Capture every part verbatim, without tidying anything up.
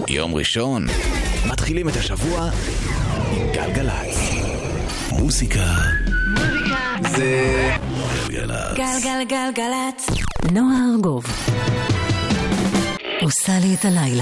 יום ראשון, מתחילים את השבוע עם גלגלצ. מוזיקה זה גלגלצ. גלגלגלגלצ. נועה ארגוב עושה לי את הלילה.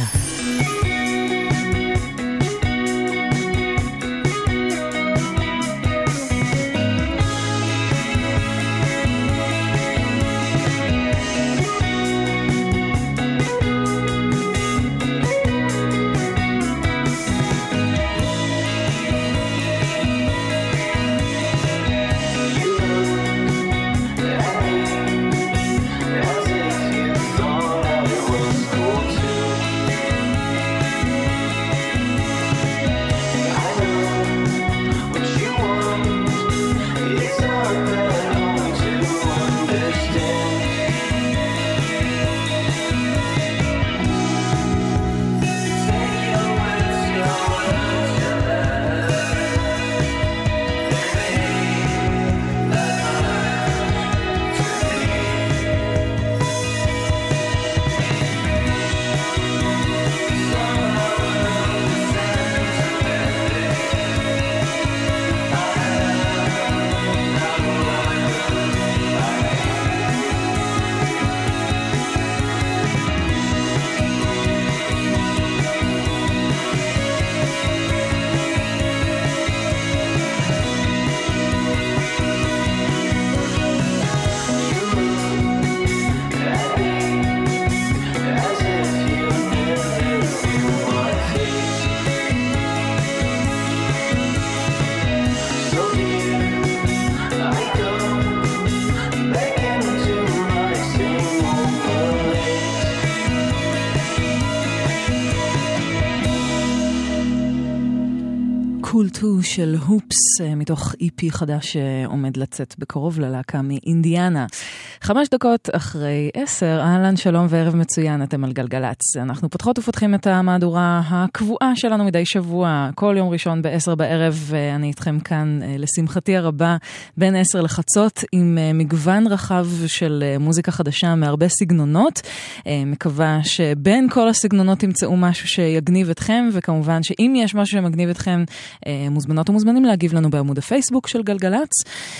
קולטו של הופס מתוך אי פי חדש שעומד לצאת בקרוב ללהקה מאינדיאנה. חמש דקות אחרי עשר, אהלן, שלום וערב מצוין, אתם על גלגלץ. אנחנו פותחות ופותחים את המהדורה הקבועה שלנו מדי שבוע, כל יום ראשון בעשר בערב, אני איתכם כאן לשמחתי הרבה בין עשר לחצות עם מגוון רחב של מוזיקה חדשה מהרבה סגנונות. מקווה שבין כל הסגנונות תמצאו משהו שיגניב אתכם, וכמובן שאם יש משהו שמגניב אתכם, מוזמנות ומוזמנים להגיב לנו בעמוד הפייסבוק של גלגלץ.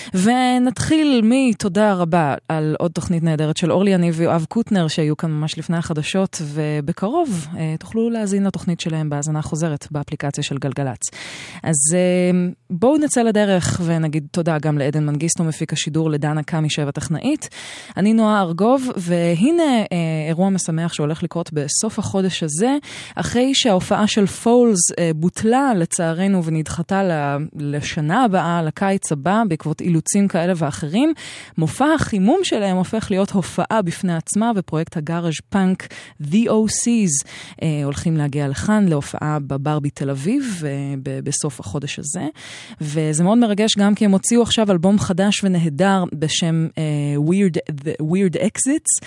ונתחיל מתודה רבה על עוד תוכנית נהדרת של אורלי יניב ויואב קוטנר שהיו כאן ממש לפני החדשות, ובקרוב תוכלו להזין לתוכנית שלהם בהאזנה חוזרת באפליקציה של גלגלץ. אז בואו נצא לדרך ונגיד תודה גם לעדן מנגיסטו מפיק השידור, לדנה קמי שבע טכנאית. אני נועה ארגוב, והנה אירוע משמח שהולך לקרות בסוף החודש הזה, אחרי שההופעה של פולס בוטלה לצערנו ונדחתה לשנה הבאה, לקיץ הבא, בעקבות אילוצים כאלה ואחרים. מופע החימום שלהם הופך להיות הופעה בפני עצמה, ופרויקט הגאראז' פאנק The או סי'ס אה, הולכים להגיע לכאן להופעה בברבי תל אביב אה, ב- בסוף החודש הזה, וזה מאוד מרגש גם כי הם הוציאו עכשיו אלבום חדש ונהדר בשם אה, Weird, The Weird Exits,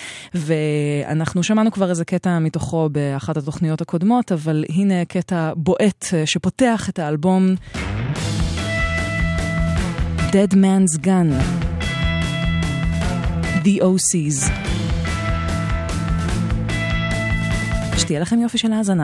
ואנחנו שמענו כבר איזה קטע מתוכו באחת התוכניות הקודמות, אבל הנה קטע בועט אה, שפותח את האלבום Dead Man's Gun, The או סי'ס. שתהיה לכם יופי של האזנה.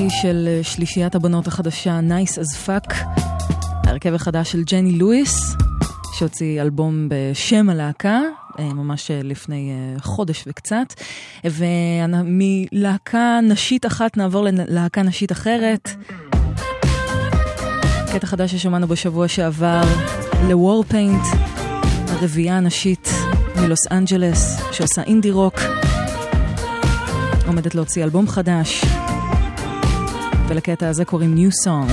של שלישיית הבנות החדשה Nice as Fuck, ההרכב החדש של ג'ני לואיס, שהוציא אלבום בשם הלהקה, ממש לפני חודש וקצת, ומלהקה נשית אחת נעבור ללהקה נשית אחרת. קטע חדש ששמענו בשבוע שעבר, ל-Warpaint, הרביעייה הנשית מלוס אנג'לס, שעושה אינדי רוק, עומדת להוציא אלבום חדש, ולקטע הזה קוראים New Song.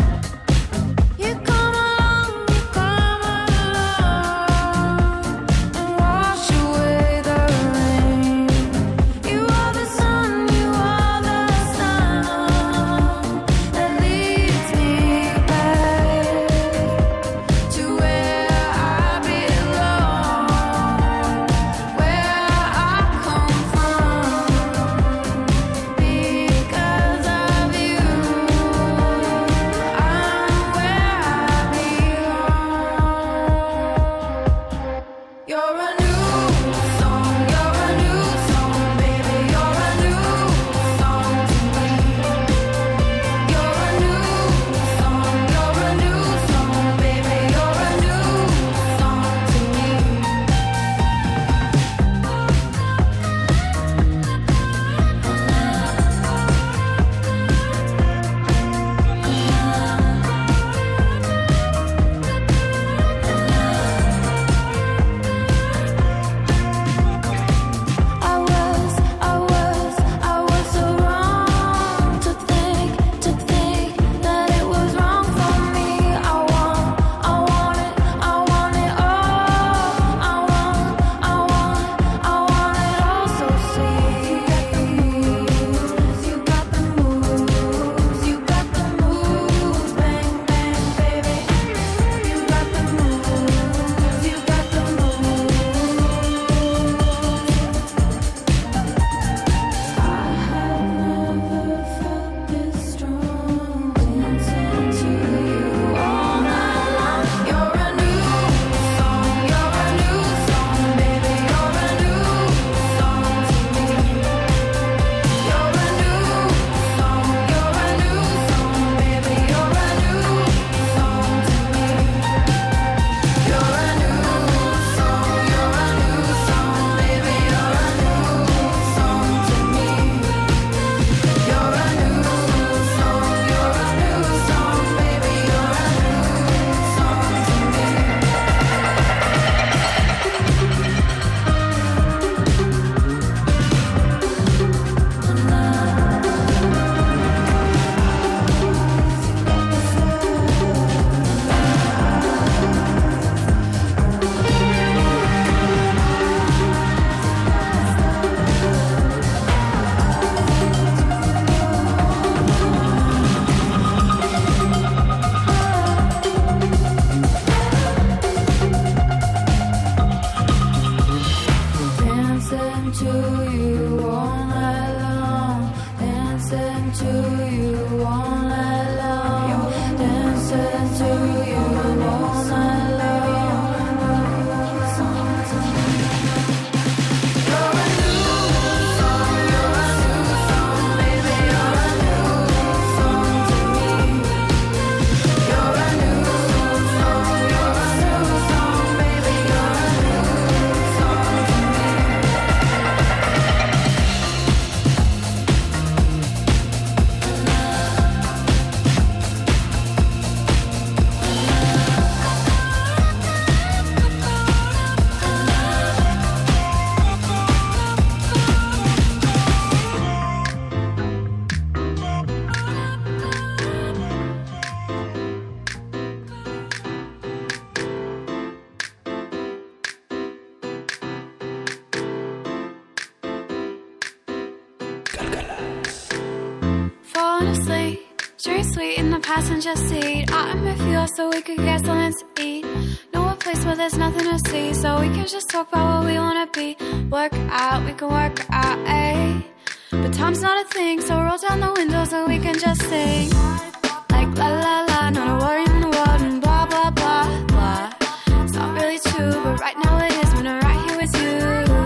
Passenger seat, I'm with you so we could get something to eat. Know a place where there's nothing to see, so we can just talk about what we wanna be. Work out, we can work out, eh? But time's not a thing, so roll down the window so we can just sing. Like la la la, not a worry in the world, and blah blah blah blah. It's not really true, but right now it is when I'm right here with you.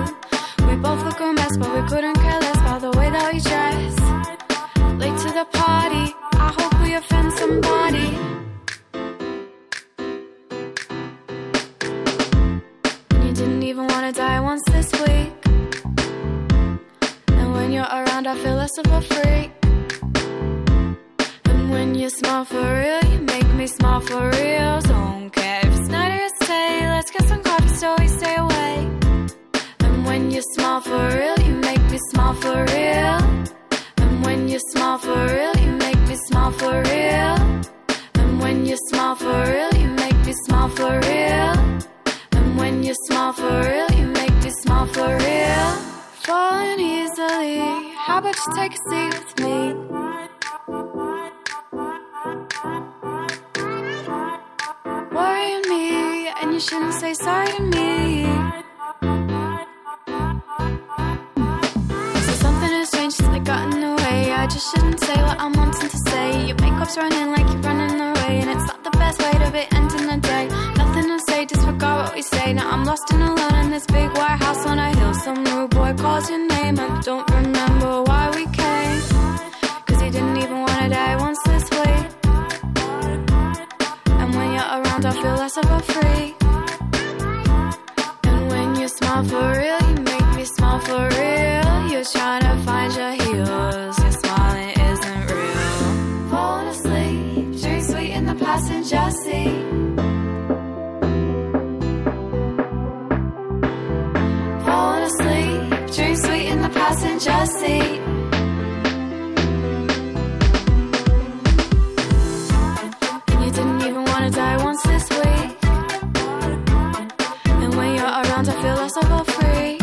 We both look a mess, but we couldn't care less about the way that we dress. Late to the party. less of a freak. And when you smile for real, you make me smile for real. Don't care if it's night or it's day, let's get some coffee so we stay awake. And when you smile for real, you make me smile for real. And when you smile for real, you make me smile for real. And when you smile for real, you make me smile for real. And when you smile for real, you make me smile for real. Falling easily, how about you take a seat with me? Worrying me, and you shouldn't say sorry to me. So something has changed since I got in the way. I just shouldn't say what I'm wanting to say. Your makeup's running like you're running away, and it's not the best way to be ending the day. Nothing to say, disregard what we say. Now I'm lost and alone in this big white house on a hill. Some rude boy calls your name, I don't remember why we came, cause he didn't even wanna die once this week. And when you're around I feel less of a freak. And when you smile for real, you make me smile for real. You're trying to find your heels, your smiling isn't real. Falling asleep, drink sweet in the passenger seat. Falling asleep, drink sweet in the passenger seat. And you didn't even wanna die once this week. And when you're around I feel less of a freak.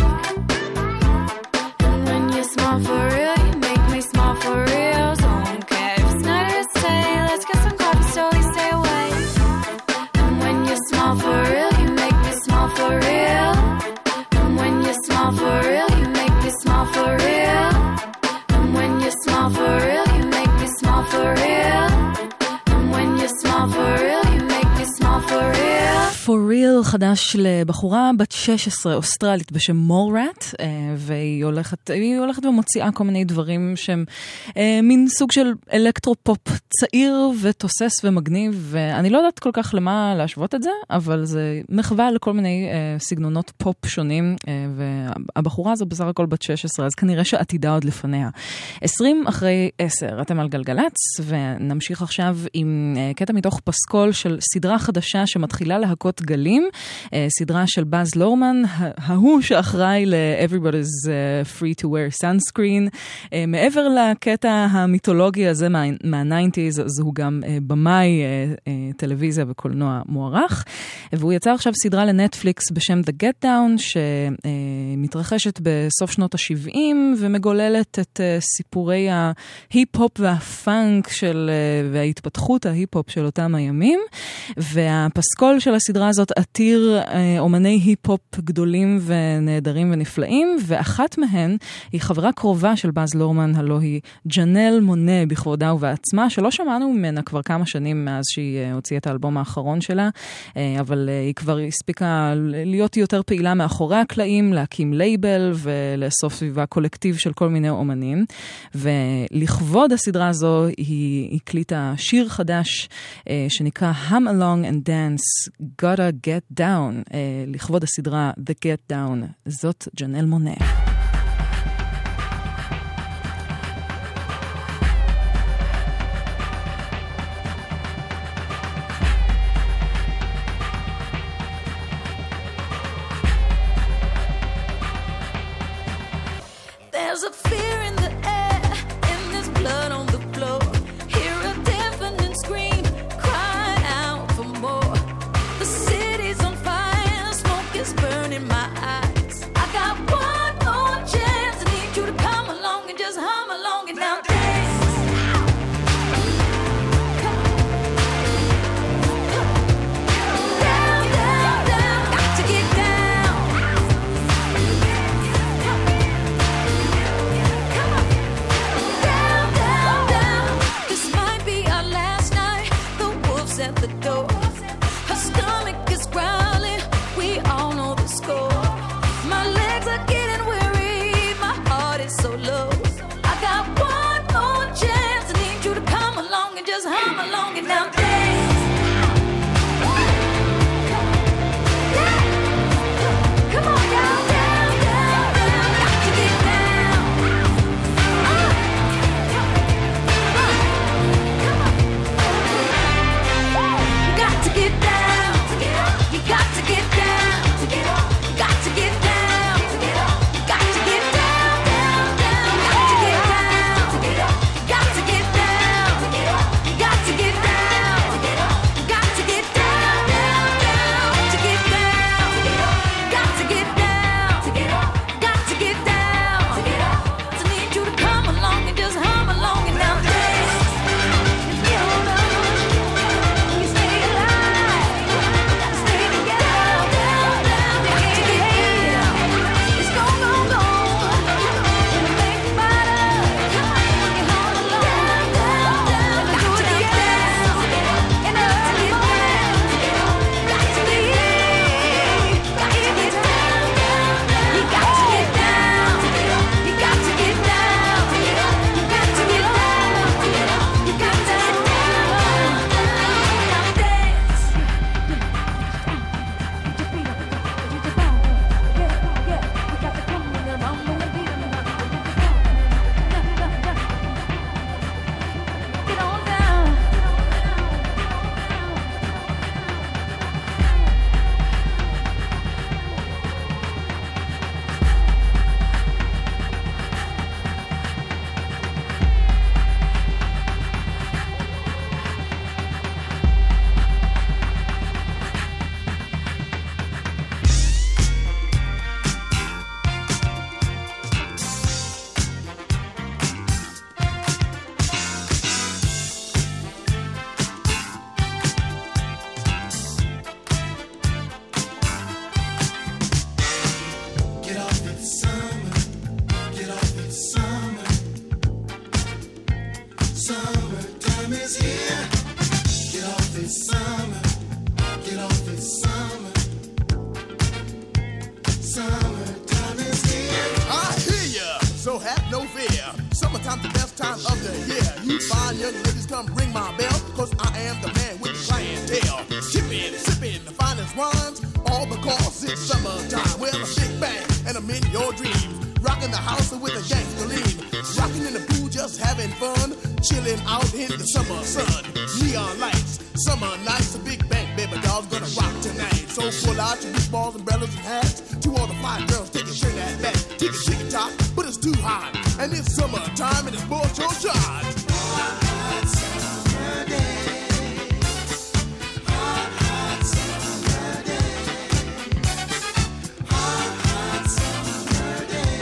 And when you smile for real, you make me smile for real. Don't care if it's night or it's day, let's get some coffee so we stay awake. And when you smile for real, you make me smile for real. And when you smile for real, you make me smile for real. And when you smile for real, you make me smile for real. And when you smile for real, you make me smile for real. For real חדש לבחורה בת שש עשרה אוסטרלית בשם מורט, והיא הולכת, היא הולכת ומוציאה כל מיני דברים שהם מין סוג של אלקטרופופ צעיר ותוסס ומגניב, ואני לא יודעת כל כך למה להשוות את זה, אבל זה מחווה לכל מיני סגנונות פופ שונים, והבחורה הזו בסך הכל בת שש עשרה, אז כנראה שעתידה עוד לפניה. עשרים אחרי עשר, אתם על גלגלץ, ונמשיך עכשיו עם קטע מתוך פסקול של סדרה חדשה שמתחילה להקות גלים, סדרה של באז לורמן, ההוא שאחראי ל-Everybody's Free to Wear Sunscreen. מעבר לקטע המיתולוגי הזה מה-תשעים, אז הוא גם במאי טלוויזיה וקולנוע מוערך, והוא יצא עכשיו סדרה לנטפליקס בשם The Get Down, שמתרחשת בסוף שנות ה-שבעים, ומגוללת את סיפורי ההיפ-הופ והפאנק של, וההתפתחות ההיפ-הופ של אותם הימים, והפסקול של הסדרה הזאת עתיר אומני היפ-הופ גדולים ונהדרים ונפלאים, ואחת מהן היא חברה קרובה של באז לורמן, הלוא היא ג'נל מונה בכבודה ובעצמה, שלא שמענו ממנה כבר כמה שנים מאז שהיא הוציאה את האלבום האחרון שלה, אבל היא כבר הספיקה להיות יותר פעילה מאחורי הקלעים, להקים לייבל ולאסוף סביבה קולקטיב של כל מיני אומנים, ולכבוד הסדרה הזו היא הקליטה שיר חדש שנקרא Hum Along and Dance, Gotta Get Down, לכבוד הסדרה The Get Down. זאת ג'נל מונה. There's a fear in the air, and there's blood on the floor. Hear a deafening scream, cry out for more. The city's on fire, smoke is burning my eyes. I got one more chance, I need you to come along and just hum along and now dance. Down, down, down, got to get down. Summertime's the best time of the year. You fine young ladies, come ring my bell, cause I am the man with the clientele. Chippin', sippin', the finest wines, all because it's summertime. Well, a big bang, and I'm in your dreams. Rockin' the house with a gangster lean. Rockin' in the pool, just having fun. Chillin' out in the summer sun. Neon lights, summer nights, a big bang, baby doll's gonna rock tonight. So pull out your beach balls, umbrellas, and hats. To all the fine girls, take a train that back. Take a ticket top, but it's too hot. And it's summertime, and it's both your shot. Hot, hot summer day. Hot, hot summer day. Hot, hot summer day.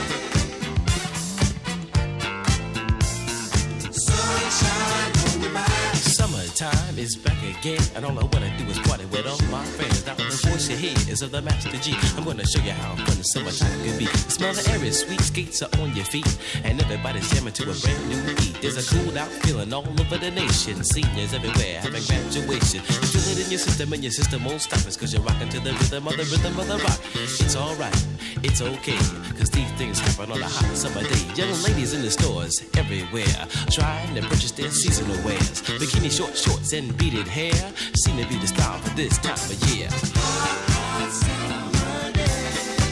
Sunshine on your mind. Summertime is back again, and all I wanna do is party with all my friends. Now the voice you hear is of the Master G. I'm gonna show you how fun the summertime can be. The smell of the air is sweet, skates are on your feet, and everybody's jamming to a brand new beat. There's a cooled out feeling all over the nation. Seniors everywhere having graduation. You feel it in your system, and your system won't stop us, cause you're rocking to the rhythm of the rhythm of the rock. It's alright, it's okay, cause these things happen on a hot summer day. Young ladies in the stores everywhere, trying to purchase their seasonal wares. Bikini short shorts and beaded hair seem to be the style for this time of year. Hot, hot summer day.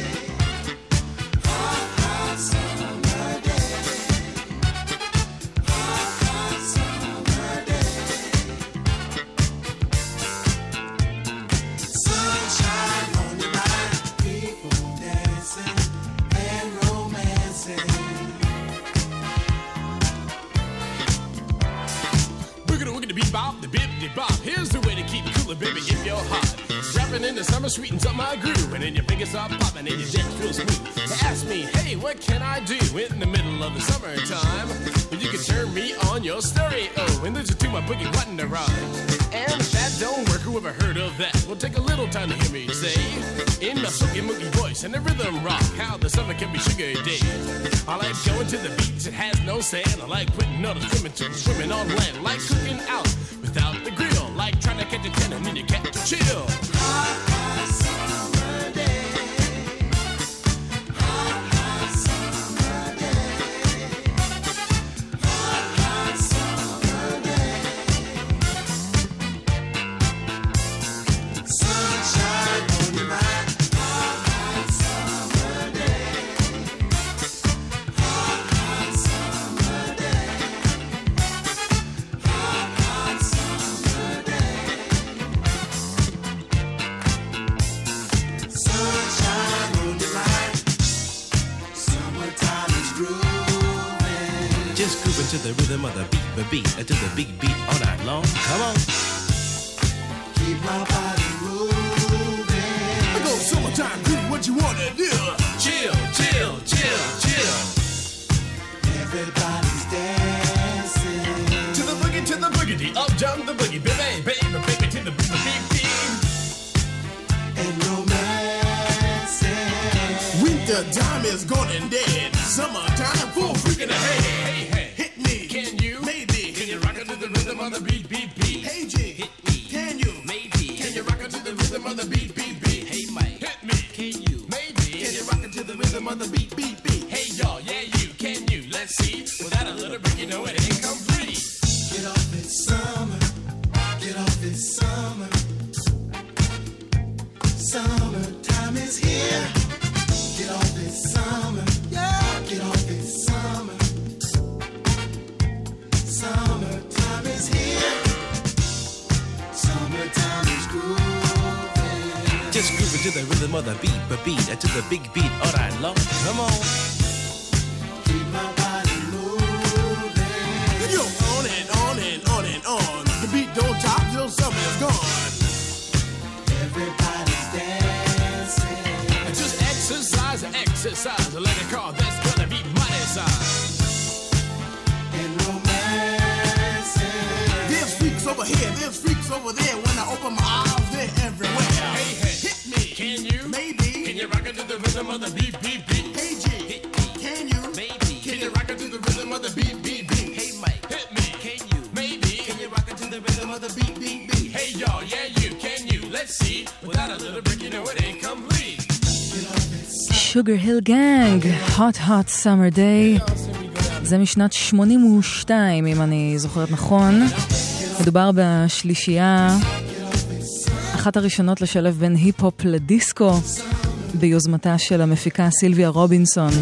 Hot, hot summer day. Hot, hot summer day. Sunshine on your mind. People dancing and romancing. Wiggity wiggity bebop, the bibbity bop. Here's the way to keep it cooler, baby, if you're hot. Rapping in the summer sweetens up my groove, and then your fingers start popping and your dance real smooth. They ask me, hey, what can I do in the middle of the summertime? Well, you can turn me on your stereo and listen to my boogie button to rhyme. And if that don't work, whoever heard of that? Well, take a little time to hear me say, in my silky mookie voice and the rhythm rock, how the summer can be sugar days. I like going to the beach, it has no sand. I like putting on a swimming to swimming on land. Like cooking out without the grill, like trying to catch a ten and then you catch a chill. Hot, hot summer day. Hot, hot summer day. Hot, hot summer day. Sunshine on your mind. Hot, hot summer day. Hot, hot summer day. Hot, hot summer day. Sunshine on your mind. Summertime is grooving. Just grooving to the rhythm of the beat, the beat, and to the big beat all night long. Come on. Keep my body moving. I go summertime groove, what you wanna do? Chill, chill, chill, chill. Everybody's dancing. To the boogie, to the boogity, up jump the boogie, baby, baby, baby, to the boogie, beat, beat. And romancing. Winter time is gone and dead. Summertime full freaking ahead. Hey, hey, Hit me. can you? Maybe. Can you rock it to the rhythm of the beat, beat, beat? Hey G. Hit me. Can you? Maybe. Can you rock it to the rhythm of the beat, beat, beat? Hey, Mike. Hit me. Can you? Maybe. Can you rock it to the rhythm of the beat, beat, beat? Hey, y'all, yeah, you, can you? Let's see. Without a little break, you know it ain't complete. Get off this summer. Get off this summer. Summertime is here. Get off this summer. Yeah. Get off this summer. Summertime is here. Summertime is grooving. Just grooving to the rhythm of the beat, but beat, and to the big beat all night long. Come on. Keep my body moving. Yo, on and on and on and on. The beat don't stop till summer is gone. Everybody's dancing. Just exercise, exercise, like a car that's gonna be mighty size. And romancing. There's freaks over here, there's freaks over there. When I open my eyes, they're everywhere. Hey, hey, Hit me. can you? Maybe. Can you rock it to the rhythm of the beat, beat, beat? Hey G. Hit me. Can you? Maybe. Can you rock it to the rhythm of the beat, beat, beat? Hey, Mike. Hit me. Can you? Maybe. Can you rock it to the rhythm of the beat, beat, beat? Hey, y'all, yeah, you, can you? Let's see. Without a little break, you know it ain't complete. Get off this summer. Sugar Hill Gang, Hot Hot Summer Day. זה משנת שמונים ושתיים, אם אני זוכרת נכון. מדובר בשלישייה, אחת הראשונות לשלב בין היפ-הופ לדיסקו, ביוזמתה של המפיקה סילביה רובינסון.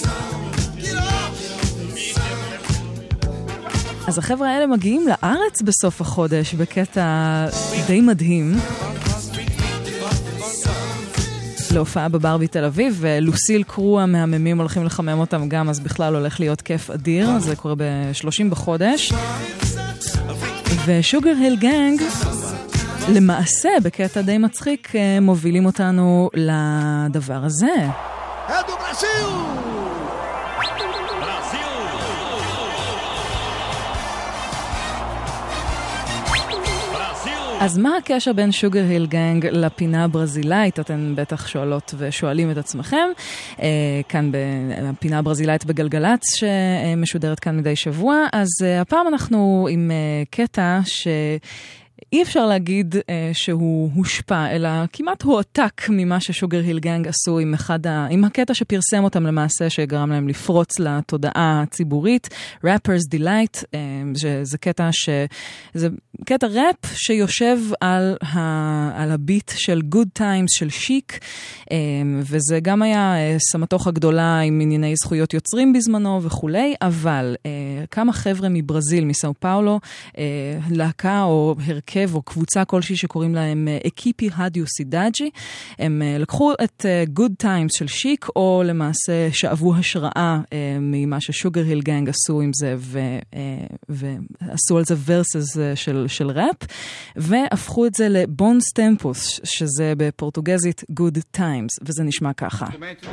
אז החבר'ה האלה מגיעים לארץ בסוף החודש בקטע די מדהים. להופעה בברבי תל אביב, ולוסיל קרו המהממים הולכים לחמם אותם גם, אז בכלל הולך להיות כיף אדיר. זה קורה ב-שלושים בחודש. ושוגר היל גנג, למעשה, בקטע די מצחיק, מובילים אותנו לדבר הזה. אדו ברזיל! אז מה הקשר בין שוגר היל גנג לפינה הברזילאית? אתן בטח שואלות ושואלים את עצמכם. אה, כאן בפינה הברזילאית בגלגלץ שמשודרת כאן מדי שבוע. אז אה, הפעם אנחנו עם אה, קטע ש... אי אפשר להגיד אה, שהוא הושפע, אלא כמעט הועתק ממה ששוגר היל גנג עשו עם, אחד ה... עם הקטע שפרסם אותם למעשה, שגרם להם לפרוץ לתודעה הציבורית, Rapper's Delight, אה, שזה קטע ש... זה קטע ראפ שיושב על, ה... על הביט של Good Times של שיק, אה, וזה גם היה אה, סמטוחה גדולה עם ענייני זכויות יוצרים בזמנו וכולי, אבל אה, כמה חבר'ה מברזיל, מסאו פאולו, אה, להקה או הרכב, או קבוצה כלשהי שקוראים להם אקיפי הדיו סידאג'י, הם לקחו את Good Times של שיק, או למעשה שאבו השראה ממה ששוגר היל גנג עשו עם זה, ועשו על זה ורסס של, של ראפ, והפכו את זה לבונס טמפוס, שזה בפורטוגזית Good Times, וזה נשמע ככה.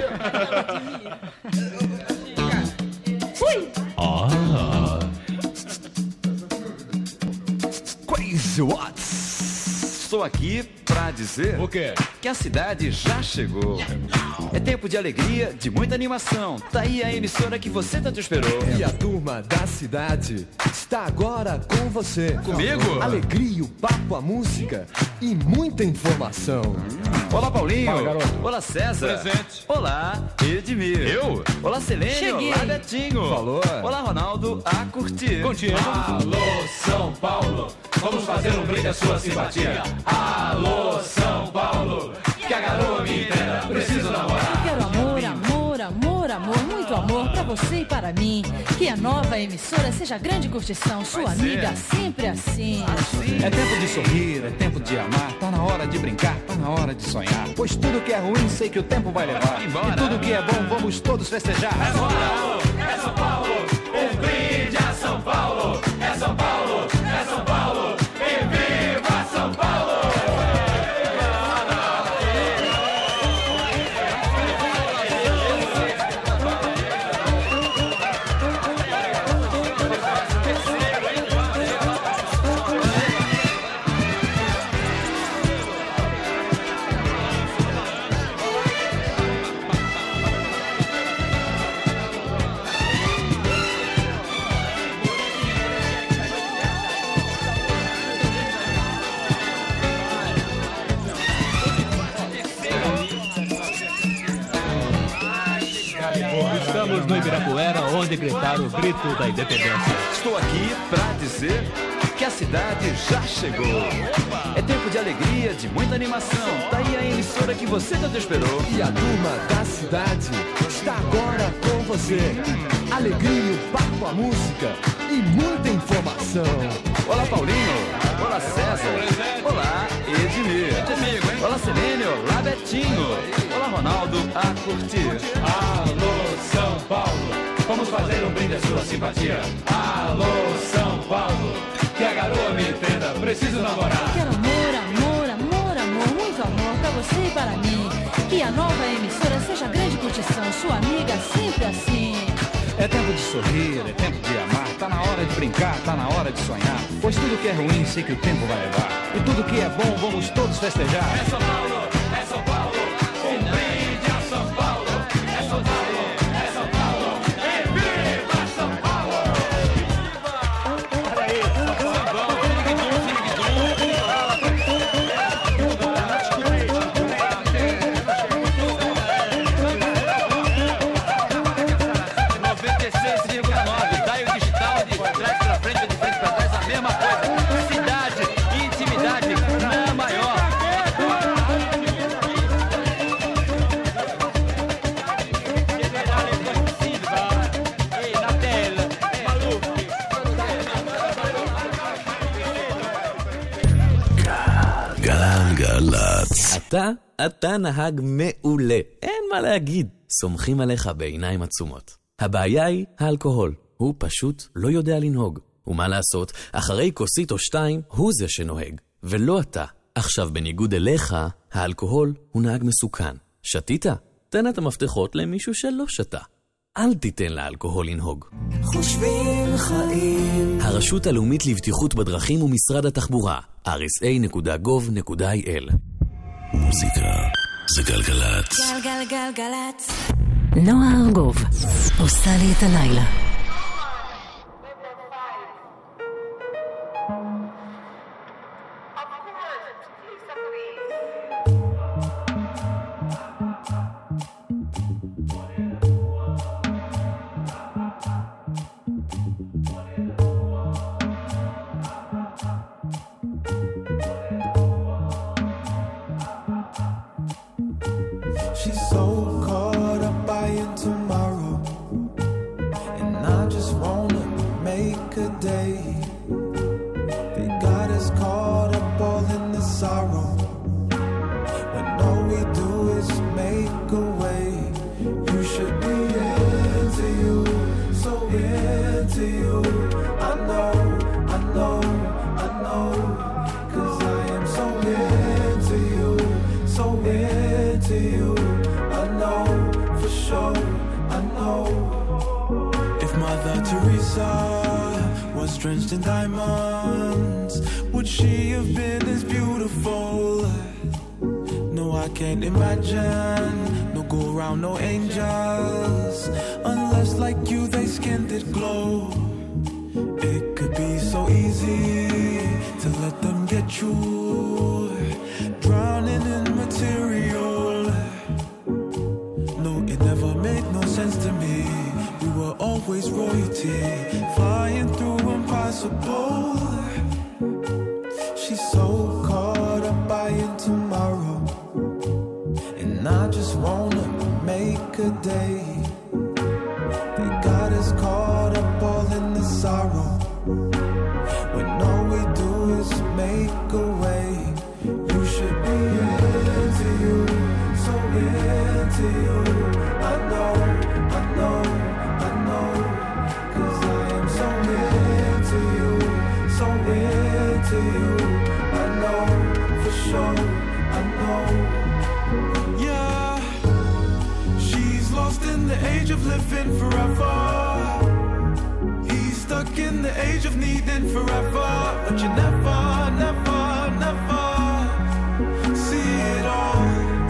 Crazy Watts. Estou aqui pra dizer o quê? Que a cidade já chegou. É tempo de alegria, de muita animação. Tá aí a emissora que você tanto esperou. E a turma da cidade está agora com você. Comigo? Alegria, o papo, a música e muita informação. Olá, Paulinho. Fala, garoto. Olá, César. Presente. Olá, Edmir. Eu? Olá, Selênio. Cheguei. Olá, Betinho. Falou. Olá, Ronaldo. A curtir. Contigo. Alô, São Paulo, vamos fazer um brinde à sua simpatia. Alô, São Paulo, que a garoa me entenda, preciso namorar. Quero amor, amor, amor, amor, muito amor pra você e para mim. Que a nova emissora seja grande curtição, sua Vai amiga ser. sempre assim. É tempo de sorrir, é tempo de amar. Tá na hora de brincar, tá na hora de sonhar. Pois tudo que é ruim sei que o tempo vai levar. Embora. E tudo que é bom vamos todos festejar. É São Paulo, é São Paulo, um brinde a São Paulo. É São Paulo, é São Paulo, e viva São Paulo! Estamos no Ibirapuera, onde gritaram o grito da independência. Estou aqui pra dizer que a cidade já chegou. É tempo de alegria, de muita animação. Tá aí a emissora que você tanto esperou. E a turma da cidade está agora com você. Alegria, o papo, a música e muita informação. Olá, Paulinho. Olá, César. Olá, Edmir. Olá, Selênio. Olá, Betinho. Olá, Ronaldo. A curtir. Alô, São Paulo, vamos fazer um brinde à sua simpatia. Alô, São Paulo, que a garoa me entenda, preciso namorar. Quero amor, amor, amor, amor, muito amor pra você e para mim. Que a nova emissora seja grande curtição, sua amiga sempre assim. É tempo de sorrir, é tempo de amar. Tá na hora de brincar, tá na hora de sonhar. Pois tudo que é ruim sei que o tempo vai levar. E tudo que é bom vamos todos festejar. É São Paulo, é São Paulo, um brinde a São Paulo. É São Paulo, é São Paulo, e viva São Paulo! noventa e seis vírgula nove אתה, אתה נהג מעולה. אין מה להגיד. סומכים עליך בעיניים עצומות. הבעיה היא האלכוהול. הוא פשוט לא יודע לנהוג. ומה לעשות, אחרי כוסית או שתיים, הוא זה שנוהג. ולא אתה. עכשיו, בניגוד אליך, האלכוהול הוא נהג מסוכן. שתית? תן את המפתחות למישהו שלא שתה. אל תיתן לאלכוהול לנהוג. חושבים חיים. הרשות הלאומית לבטיחות בדרכים ומשרד התחבורה. אר אס איי נקודה גוב נקודה איי אל. מוזיקה זה גלגלצ. גלגלגלגלצ. נועה ארגוב עושה לי את הלילה. Drenched in diamonds, would she have been as beautiful? No, I can't imagine. No go around, no angels, unless like you they skinned it glow. It could be so easy to let them get you, drowning in material. No, it never made no sense to me. We were always royalty, flying through impossible. She's so caught up buying tomorrow, and I just wanna make a day. They got us caught up all in the sorrow, when all we do is make a way. You should be into you, so into you. I know, I know, I know, 'cause I am so into you, so into you. I know, for sure, I know. Yeah, she's lost in the age of living forever. He's stuck in the age of needing forever. But you never, never, never see it all.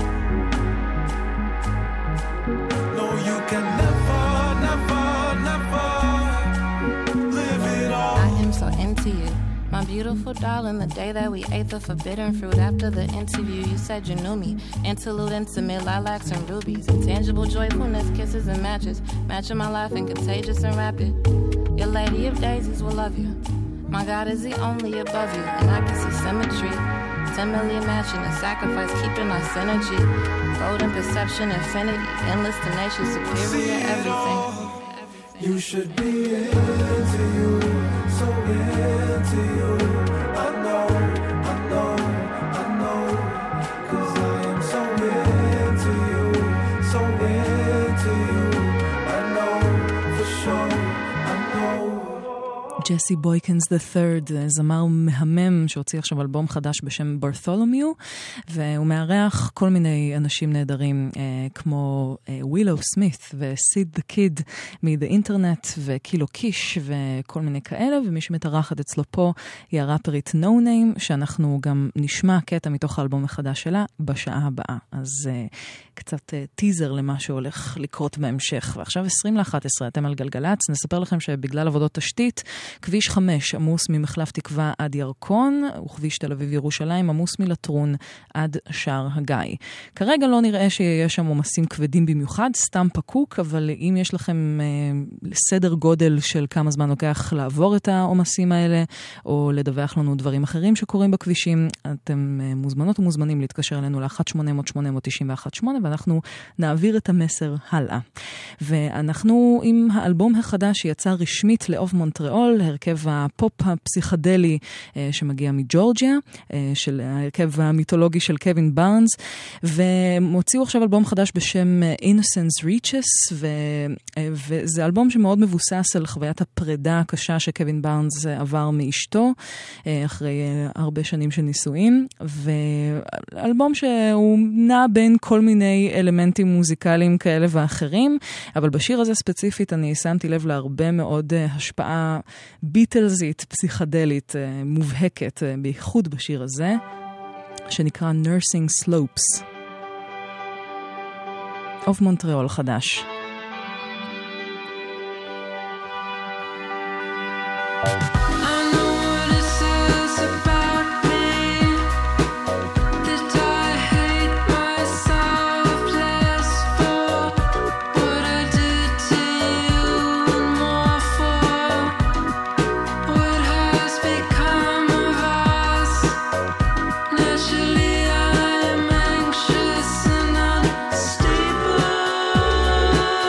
No, you can never, never, never live it all. I am so into you, my beautiful darling. The day that we ate the forbidden fruit after the interview, you said you knew me. Interlude, intimate, lilacs and rubies. Intangible joyfulness, kisses and matches. Matching my life and contagious and rapid. Your lady of daisies will love you. My God is the only above you, and I can see symmetry. Ten million matching and sacrifice, keeping our synergy. Golden perception, infinity, endless, tenacious, superior, everything. You should be into you, so into you. I know, I know, I know, 'cause I am so into you, so into you. I know, for sure, I know. ג'סי בויקנס the third, זמר מהמם שהוציא עכשיו אלבום חדש בשם ברתולומיו, והוא מארח כל מיני אנשים נהדרים כמו ווילו סמית וסיד דה קיד מ-The Internet וקילו קיש וכל מיני כאלה, ומי שמתארחת אצלו פה היא הראפרית No Name, שאנחנו גם נשמע קטע מתוך האלבום החדש שלה בשעה הבאה. אז קצת טיזר למה שהולך לקרות בהמשך. ועכשיו עשרים לאחת עשרה, אתם על גלגלץ. נספר לכם שבגלל עבודות תשתית, כביש חמש עמוס ממחלף תקווה עד ירקון, וכביש תל אביב ירושלים עמוס מלטרון עד שער הגיא. כרגע לא נראה שיש שם עומסים כבדים במיוחד, סתם פקוק, אבל אם יש לכם אה, סדר גודל של כמה זמן לוקח לעבור את העומסים האלה, או לדווח לנו דברים אחרים שקורים בכבישים, אתם אה, מוזמנות ומוזמנים להתקשר אלינו ל-אחת שמונה אפס אפס שמונה תשע אחת שמונה, ואנחנו נעביר את המסר הלאה. ואנחנו עם האלבום החדש שיצא רשמית לאוב מונטריאול, הרכב הפופ הפסיכדלי שמגיע מג'ורג'יה, של ההרכב המיתולוגי של קווין בארנס, והם הוציאו עכשיו אלבום חדש בשם Innocence Reaches, ו... וזה אלבום שמאוד מבוסס על חוויית הפרידה הקשה שקווין בארנס עבר מאשתו, אחרי הרבה שנים של נישואים, ואלבום שהוא נע בין כל מיני אלמנטים מוזיקליים כאלה ואחרים, אבל בשיר הזה ספציפית אני שמתי לב להרבה מאוד השפעה ביטלזית, פסיכדלית, מובהקת, בייחוד בשיר הזה, שנקרא Nursing Slopes. אוף מונטריאול חדש. Naturally, I'm anxious and unstable.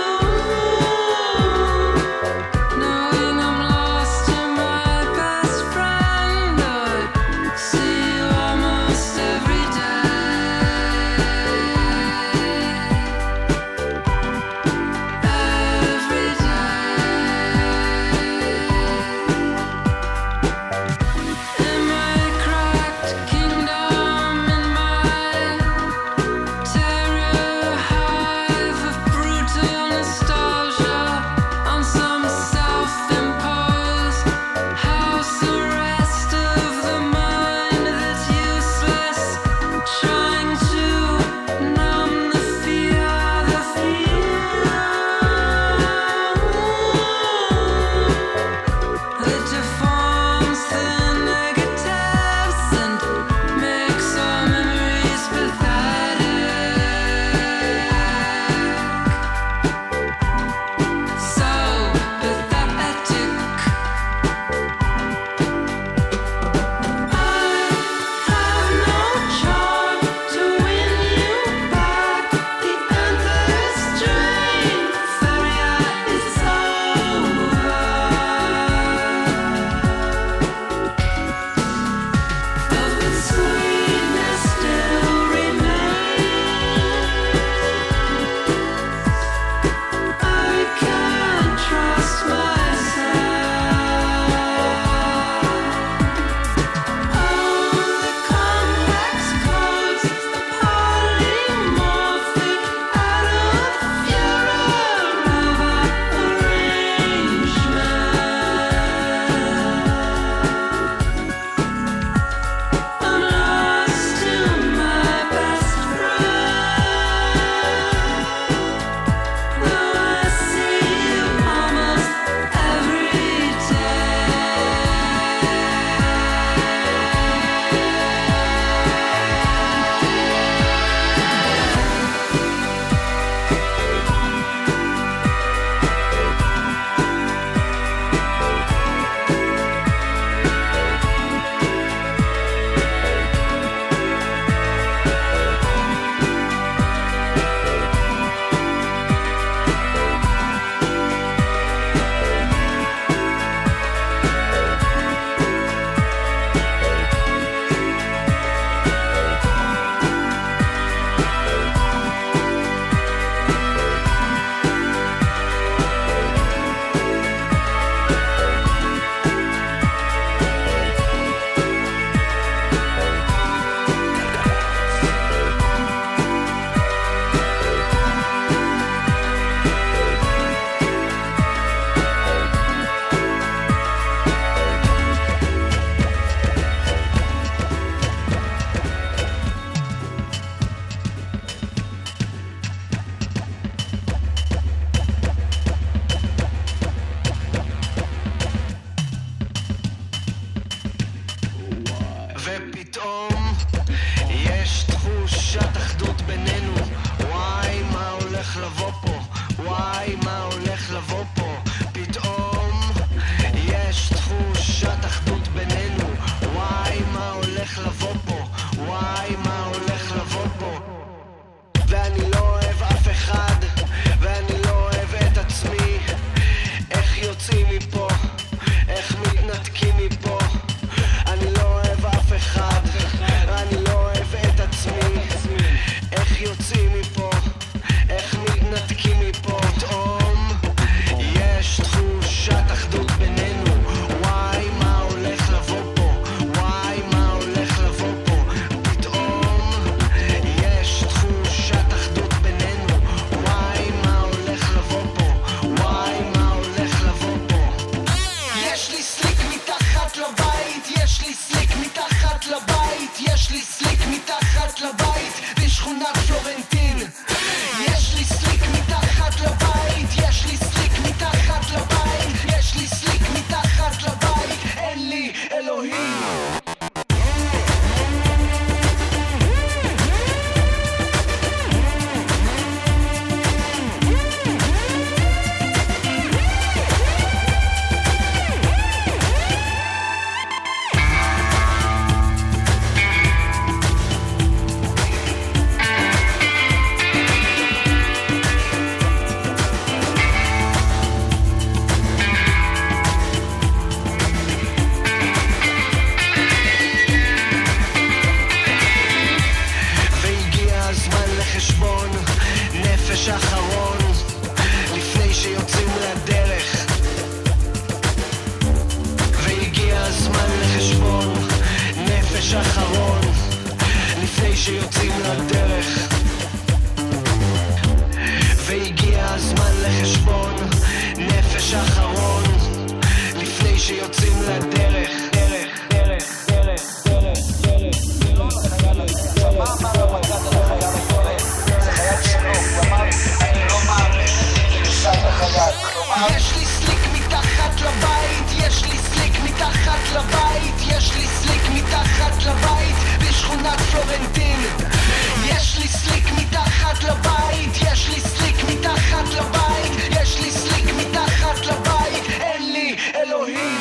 זמן לחשבון נפש אחרון לפני שיוצאים לדרך דרך, דרך, דרך, דרך, דרך לא לחייל הזה מה אמר המגד על החייל הזה? זה חייל שלו הוא אמר אני לא מעריך זה נשאר לחייל יש לי סליק מתחת לבית יש לי סליק מתחת לבית יש לי סליק מתחת לבית בשכונת פלורנטין יש לי סליק מתחת לבית יש לי סליק מתחת לבית יש לי סליק מתחת לבית אין לי אלוהים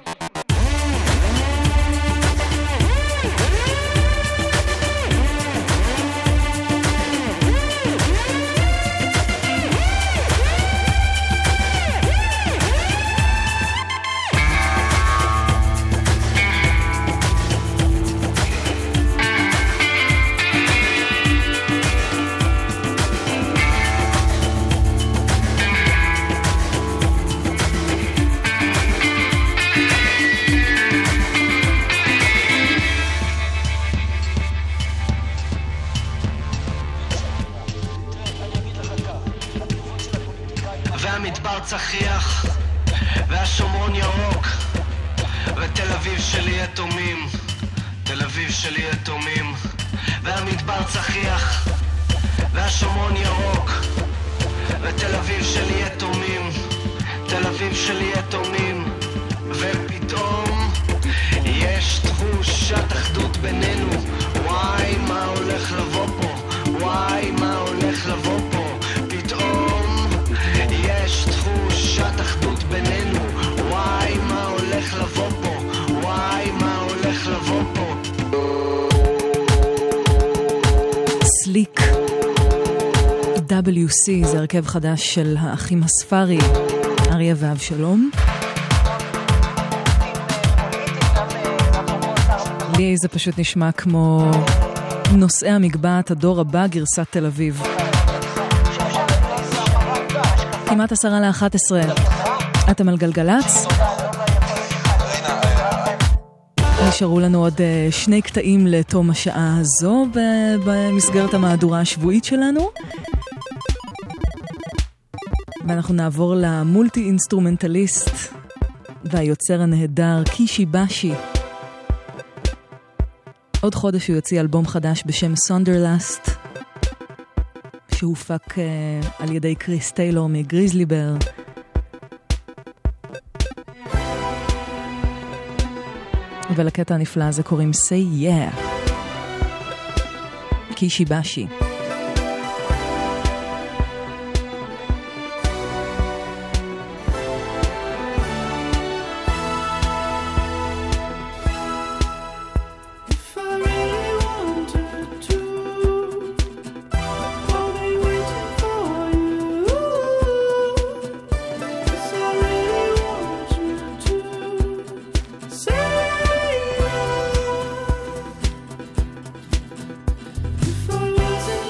והמדבר צחיח והשומרון ירוק ותל אביב שלי יתומים תל אביב שלי יתומים והמדבר צחיח והשומרון ירוק ותל אביב שלי יתומים תל אביב שלי יתומים ופתאום יש תחושת אחדות בינינו וואי מה הולך לבוא פה וואי מה הולך לבוא פה פתאום יש תחושת אחדות בינינו וואי מה הולך לבוא פה וואי מה הולך לבוא פה סליק דאבליו סי זה הרכב חדש של האחים הספרי אריה ואבשלום לי זה פשוט נשמע כמו נושאי המגבעת הדור הבא גרסת תל אביב כמעט עשרה לאחת עשרה אתם על גלגלץ נשארו לנו עוד שני קטעים לתום השעה הזו במסגרת המהדורה השבועית שלנו ואנחנו נעבור למולטי אינסטרומנטליסט והיוצר הנהדר קישי באשי עוד חודש הוא יוציא אלבום חדש בשם סונדרלאסט שהופק uh, על ידי קריס טיילור מגריזלי בר ולקטע הנפלא הזה קוראים Say Yeah קישי באשי If I wasn't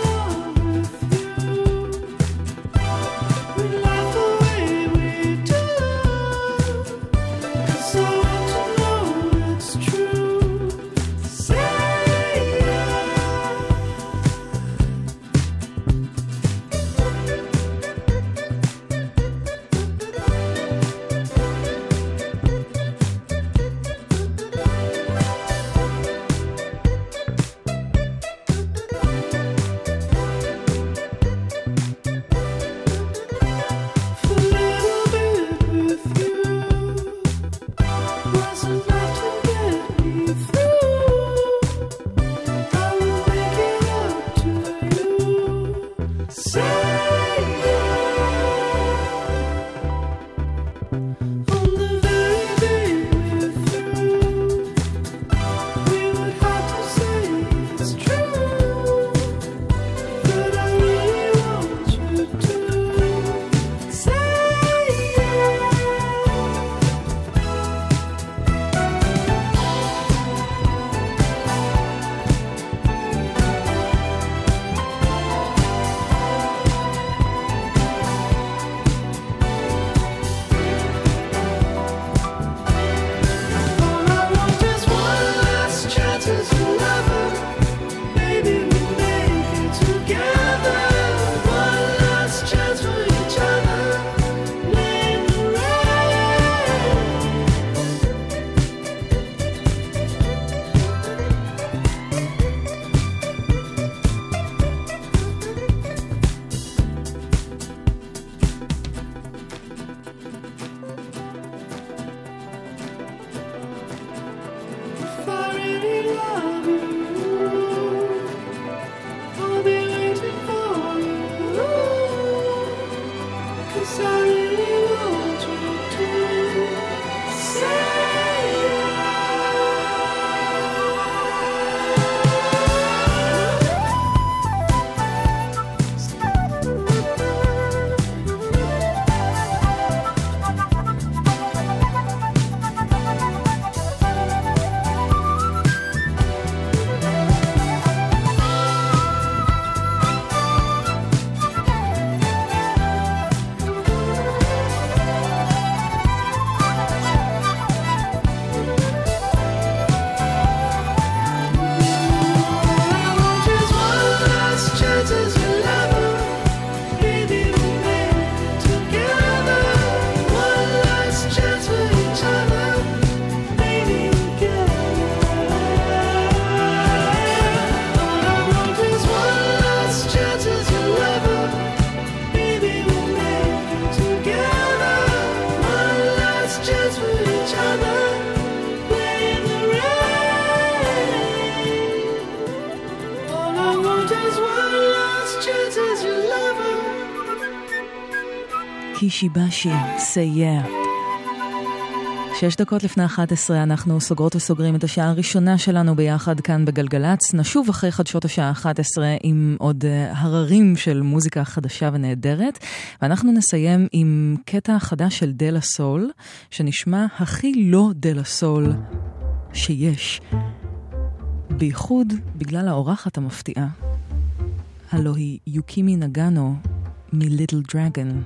קישיבשי, say yeah. שש דקות לפני אחת עשרה אנחנו סוגרות וסוגרים את השעה הראשונה שלנו ביחד כאן בגלגלץ. נשוב אחרי חדשות השעה אחת עשרה עם עוד הררים של מוזיקה חדשה ונהדרת. ואנחנו נסיים עם קטע חדש של דלה סול, שנשמע הכי לא דלה סול שיש. בייחוד בגלל האורחת המפתיעה. הלו היא יוקימי נגאנו מליטל דרגן.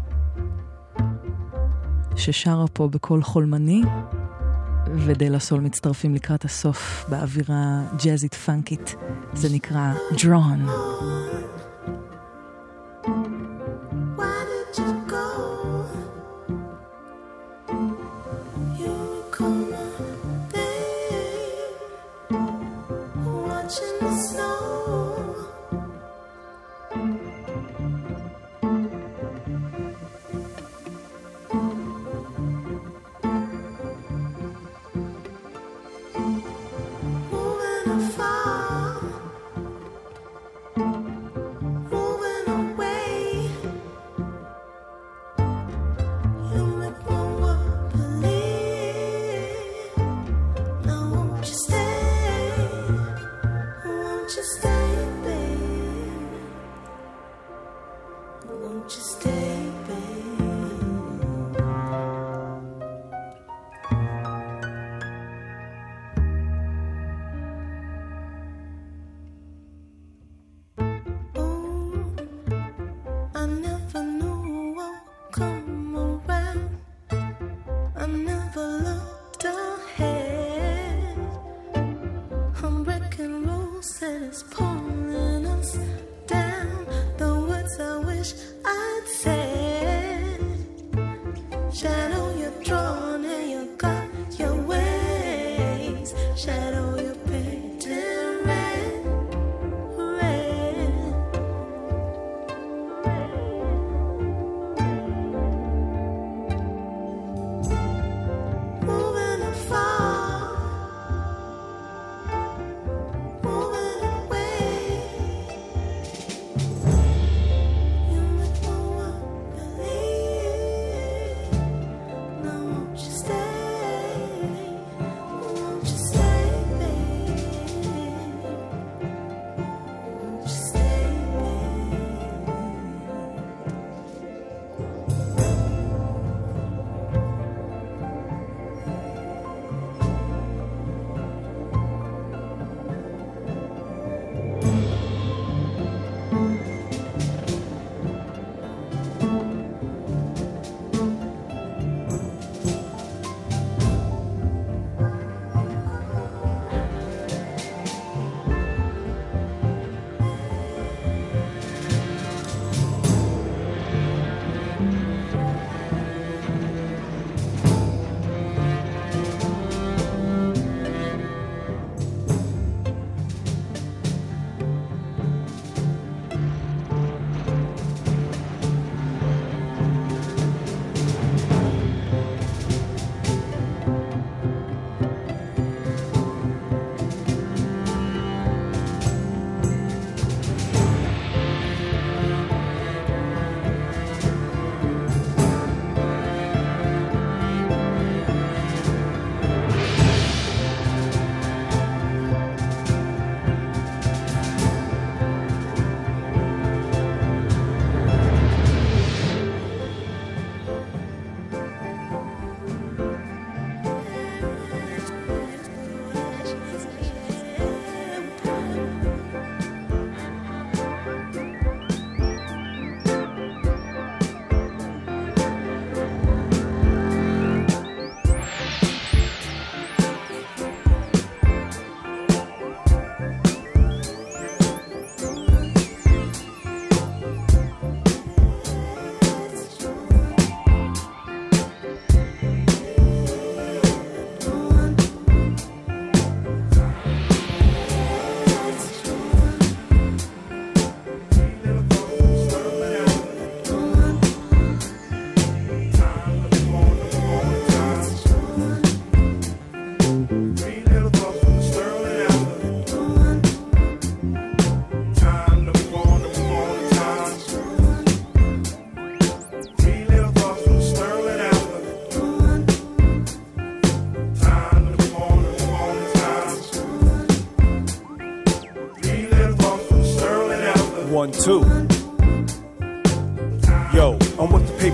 ששרה פה בקול חולמני, ודלה סול מצטרפים לקראת הסוף באווירה ג'אזית פאנקית. זה נקרא Drawn.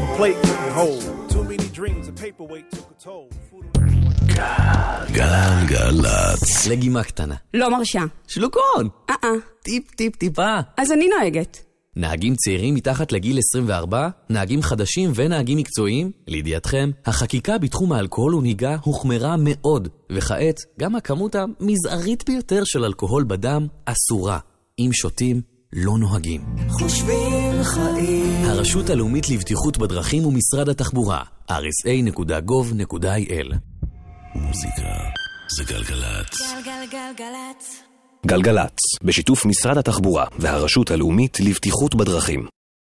paper plate couldn't hold. Too many dreams, a paperweight took a toll. גלגלצ. לגימה קטנה. לא מרשה. שלוקון. אה-אה. טיפ טיפ טיפה. אז אני נוהגת. נהגים צעירים מתחת לגיל עשרים וארבע, נהגים חדשים ונהגים מקצועיים, לידיעתכם, החקיקה בתחום האלכוהול ונהיגה הוחמרה מאוד, וכעת גם הכמות המזערית ביותר של אלכוהול בדם אסורה. אם שותים, לא נוהגים. חושבים חיים. הרשות הלאומית לבטיחות בדרכים ומשרד התחבורה, אר אס איי נקודה גוב נקודה איי אל. מוזיקה זה גלגלצ. גלגלגלגלצ. גלגלצ, בשיתוף משרד התחבורה והרשות הלאומית לבטיחות בדרכים.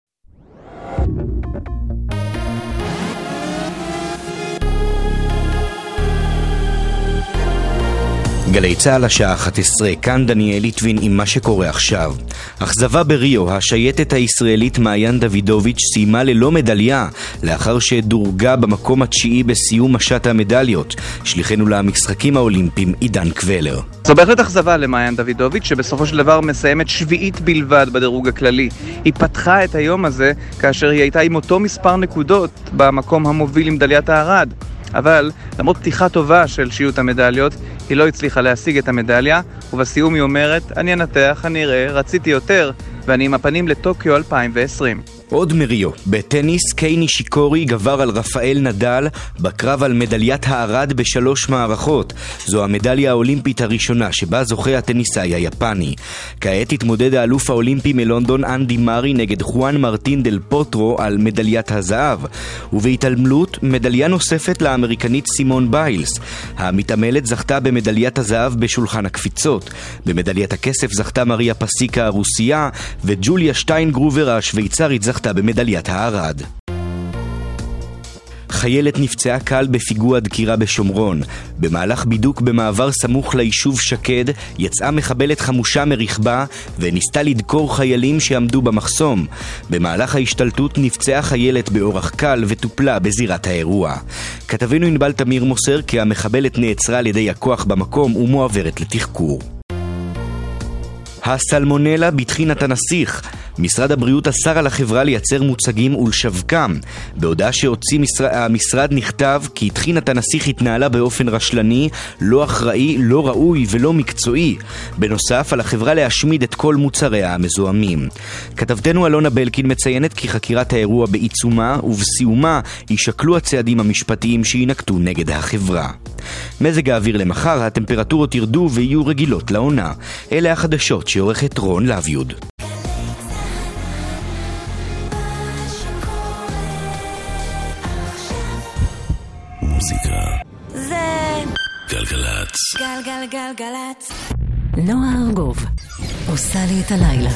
גלי צהל השעה אחת עשרה, כאן דניאל ליטבין עם מה שקורה עכשיו. אכזבה בריו, השייטת הישראלית מעיין דוידוביץ' סיימה ללא מדליה, לאחר שדורגה במקום התשיעי בסיום משת המדליות. שליחנו למשחקים האולימפיים עידן קבלר. זו בהחלט אכזבה למעיין דוידוביץ' שבסופו של דבר מסיימת שביעית בלבד בדירוג הכללי. היא פתחה את היום הזה כאשר היא הייתה עם אותו מספר נקודות במקום המוביל עם מדליית הארד. אבל למרות פתיחה טובה של שיעוט המדליות, היא לא הצליחה להשיג את המדליה, ובסיום היא אומרת, אני אנתח, אני אראה, רציתי יותר, ואני עם הפנים לטוקיו אלפיים ועשרים. עוד מריו, בטניס קיי נישיקורי גבר על רפאל נדל בקרב על מדליית הארד בשלוש מערכות. זו המדליה האולימפית הראשונה שבה זוכה הטניסאי היפני. כעת התמודד האלוף האולימפי מלונדון אנדי מארי נגד חואן מרטין דל פוטרו על מדליית הזהב, ובהתעלמלות מדליה נוספת לאמריקנית סימון ביילס. המתעמלת זכתה במדליית הזהב בשולחן הקפיצות. במדליית הכסף זכתה מריה פסיקה הרוסיה, וג'וליה שטיינגרובר השוויצרית זכתה במדליית הארד. חיילת נפצעה קל בפיגוע דקירה בשומרון. במהלך בידוק במעבר סמוך ליישוב שקד, יצאה מחבלת חמושה מרכבה וניסתה לדקור חיילים שעמדו במחסום. במהלך ההשתלטות נפצעה חיילת באורח קל וטופלה בזירת האירוע. כתבנו ענבל תמיר מוסר כי המחבלת נעצרה על ידי הכוח במקום ומועברת לתחקור. הסלמונלה בתחינת הנסיך. משרד הבריאות אסר על החברה לייצר מוצגים ולשווקם. בהודעה שהוציא משרד, המשרד נכתב כי תחינת הנסיך התנהלה באופן רשלני, לא אחראי, לא ראוי ולא מקצועי. בנוסף, על החברה להשמיד את כל מוצריה המזוהמים. כתבתנו אלונה בלקין מציינת כי חקירת האירוע בעיצומה, ובסיומה יישקלו הצעדים המשפטיים שינקטו נגד החברה. מזג האוויר למחר, הטמפרטורות ירדו ויהיו רגילות לעונה. אלה החדשות שעורכת רון לויוד. מוזיקה זה גלגלצ. גלגלגלגלצ. נועה ארגוב עושה לי את הלילה.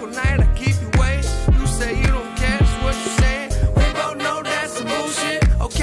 Okay.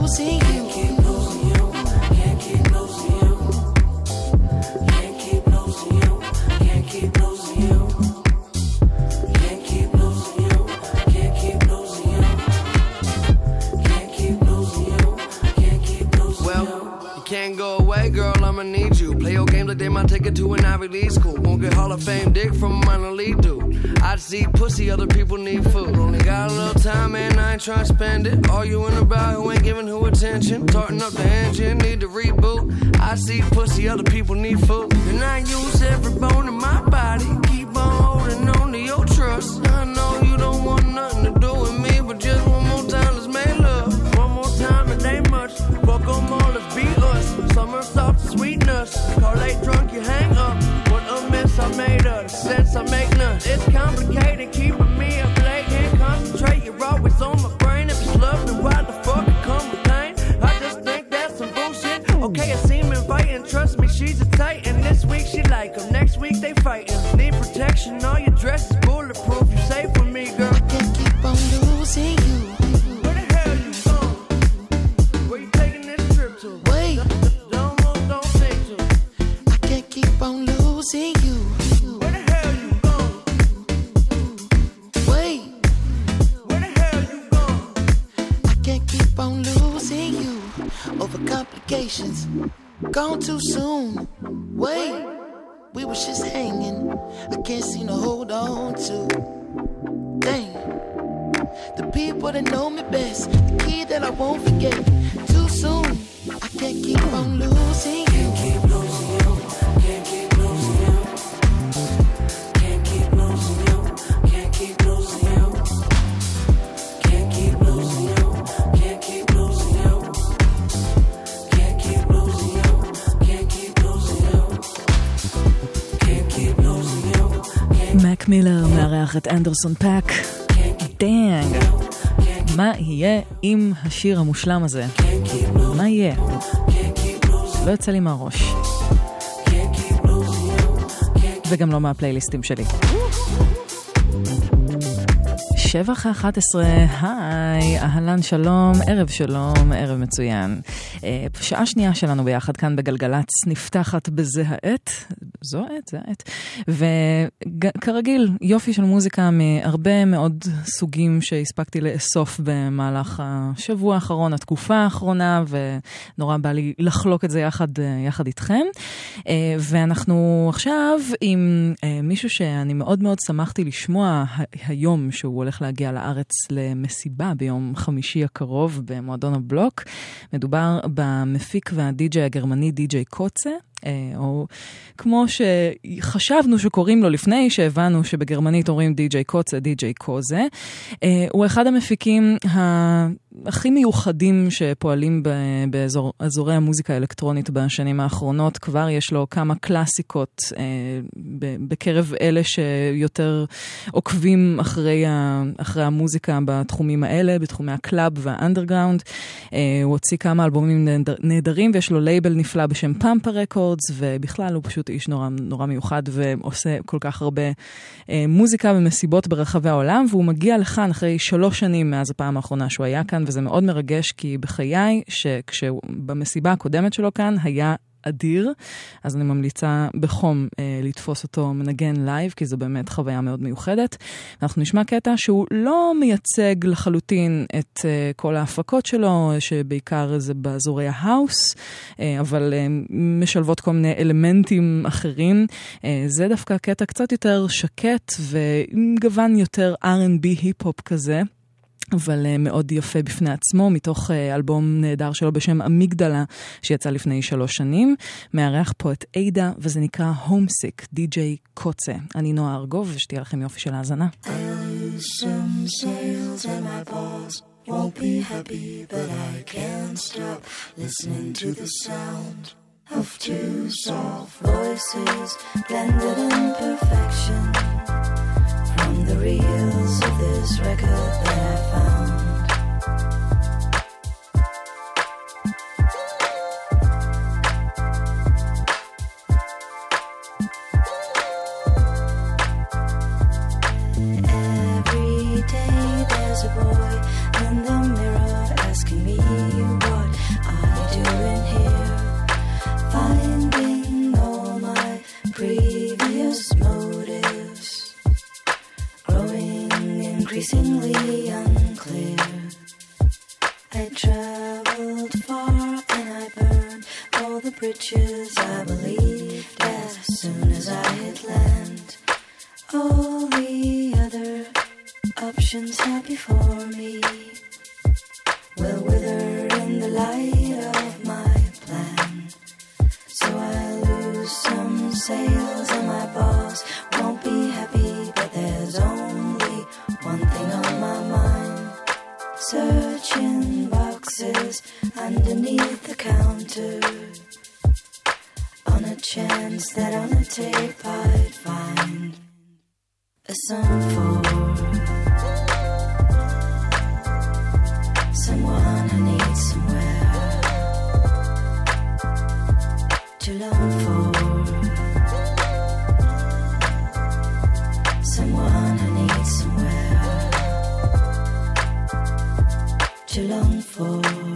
losing you. Can't keep losing you. Can't keep losing you. Can't keep losing you. Can't keep losing you. Can't keep losing you. Can't keep losing you. Can't keep losing you. Can't keep losing you. Well, you can't go away, girl. I'ma need you. Play your games like they might take it to an Ivy League school. Won't get Hall of Fame dick from a minor league dude. I see pussy, other people need food. Only got a little time, man, I ain't trying to spend it. Arguing about who ain't giving who attention. Tarting up the engine, need to reboot. I see pussy, other people need food. And I use every bone in my body. Keep on holding on to your trust. I know you don't want nothing to do with me, but just one more time, let's make love. One more time, it ain't much. Fuck them all, let's be us. Summer soft sweetness. Call late drunk, you hang up. What a mess I made of. Sense I make none. It's complicated, keeping me up late. Can't concentrate, you're always on my brain. If it's love, then why the fuck it come with pain? I just think that's some bullshit. Okay, it seem inviting, trust me, she's a titan. This week she like him, next week they fighting. Need protection, all your dress is bulletproof. You safe with me, girl. I can't keep on losing you. Where the hell you going? Where you taking this trip to? Wait, Don't move, don't think to. I can't keep on losing you. Where the hell you going? Wait, Where the hell you going? I can't keep on losing you. Over complications, gone too soon. Wait, we was just hanging. I can't seem to hold on to. Dang, the people that know me best, the key that I won't forget. Too soon, I can't keep on losing you. Can't keep losing you. Can't keep losing you. Can't keep losing you. Can't keep losing you. Can't keep losing you. Can't keep losing you. Can't keep losing you. Can't keep losing you. Can't keep losing you. מק מילר מארח את אנדרסון פאק. דאנג. מה יהיה עם השיר המושלם הזה? מה יהיה? לא יוצא לי מהראש. וגם לא מהפלייליסטים שלי. שבע אחרי אחת עשרה, היי, אהלן שלום, ערב שלום, ערב מצוין. שעה שנייה שלנו ביחד כאן בגלגלץ נפתחת בזה העת, זו העת, זה העת, וכרגיל יופי של מוזיקה מהרבה מאוד סוגים שהספקתי לאסוף במהלך השבוע האחרון, התקופה האחרונה, ונורא בא לי לחלוק את זה יחד, יחד איתכם. ואנחנו עכשיו עם מישהו שאני מאוד מאוד שמחתי לשמוע היום שהוא הולך להגיע לארץ למסיבה ביום חמישי הקרוב במועדון הבלוק. מדובר במפיק והדי-ג'יי הגרמני די-ג'יי קוצה, או כמו שחשבנו שקוראים לו לפני שהבנו שבגרמנית אומרים די-ג'יי קוצה, די-ג'יי קוזה. הוא אחד המפיקים הכי מיוחדים שפועלים באזורי המוזיקה האלקטרונית בשנים האחרונות. כבר יש לו כמה קלאסיקות בקרב אלה שיותר עוקבים אחרי, אחרי המוזיקה בתחומים האלה, בתחומי הקלאב והאנדרגראונד. הוא הוציא כמה אלבומים נהדרים ויש לו לייבל נפלא בשם פמפה רקורד, ובכלל הוא פשוט איש נורא, נורא מיוחד ועושה כל כך הרבה אה, מוזיקה ומסיבות ברחבי העולם, והוא מגיע לכאן אחרי שלוש שנים מאז הפעם האחרונה שהוא היה כאן, וזה מאוד מרגש כי בחיי שכשבמסיבה הקודמת שלו כאן היה אדיר, אז אני ממליצה בחום אה, לתפוס אותו מנגן לייב, כי זו באמת חוויה מאוד מיוחדת. אנחנו נשמע קטע שהוא לא מייצג לחלוטין את אה, כל ההפקות שלו, שבעיקר זה באזורי ההאוס, אה, אבל אה, משלבות כל מיני אלמנטים אחרים. אה, זה דווקא קטע קצת יותר שקט, וגוון יותר אר אנד בי היפ-הופ כזה, אבל uh, מאוד יפה בפני עצמו, מתוך uh, אלבום נהדר שלו בשם אמיגדלה, שיצא לפני שלוש שנים. מארח פה את אידה, וזה נקרא הומסיק, די-ג'יי קוצה. אני נועה ארגוב, ושתהיה לכם יופי של האזנה. Ocean sails and my paws won't be happy, but I can't stop listening to the sound of two soft voices blended in perfection. From the reels of this record that I found, every day there's a boy in the mirror asking me why bridges, I believed as soon as I hit land. All the other options had before me will wither in the light of my plan. So I lose some sales and my boss won't be happy, but there's only one thing on my mind. Searching boxes underneath the counter on a chance that on a tape I'd find a song for someone I need somewhere to long for. Someone I need somewhere to long for.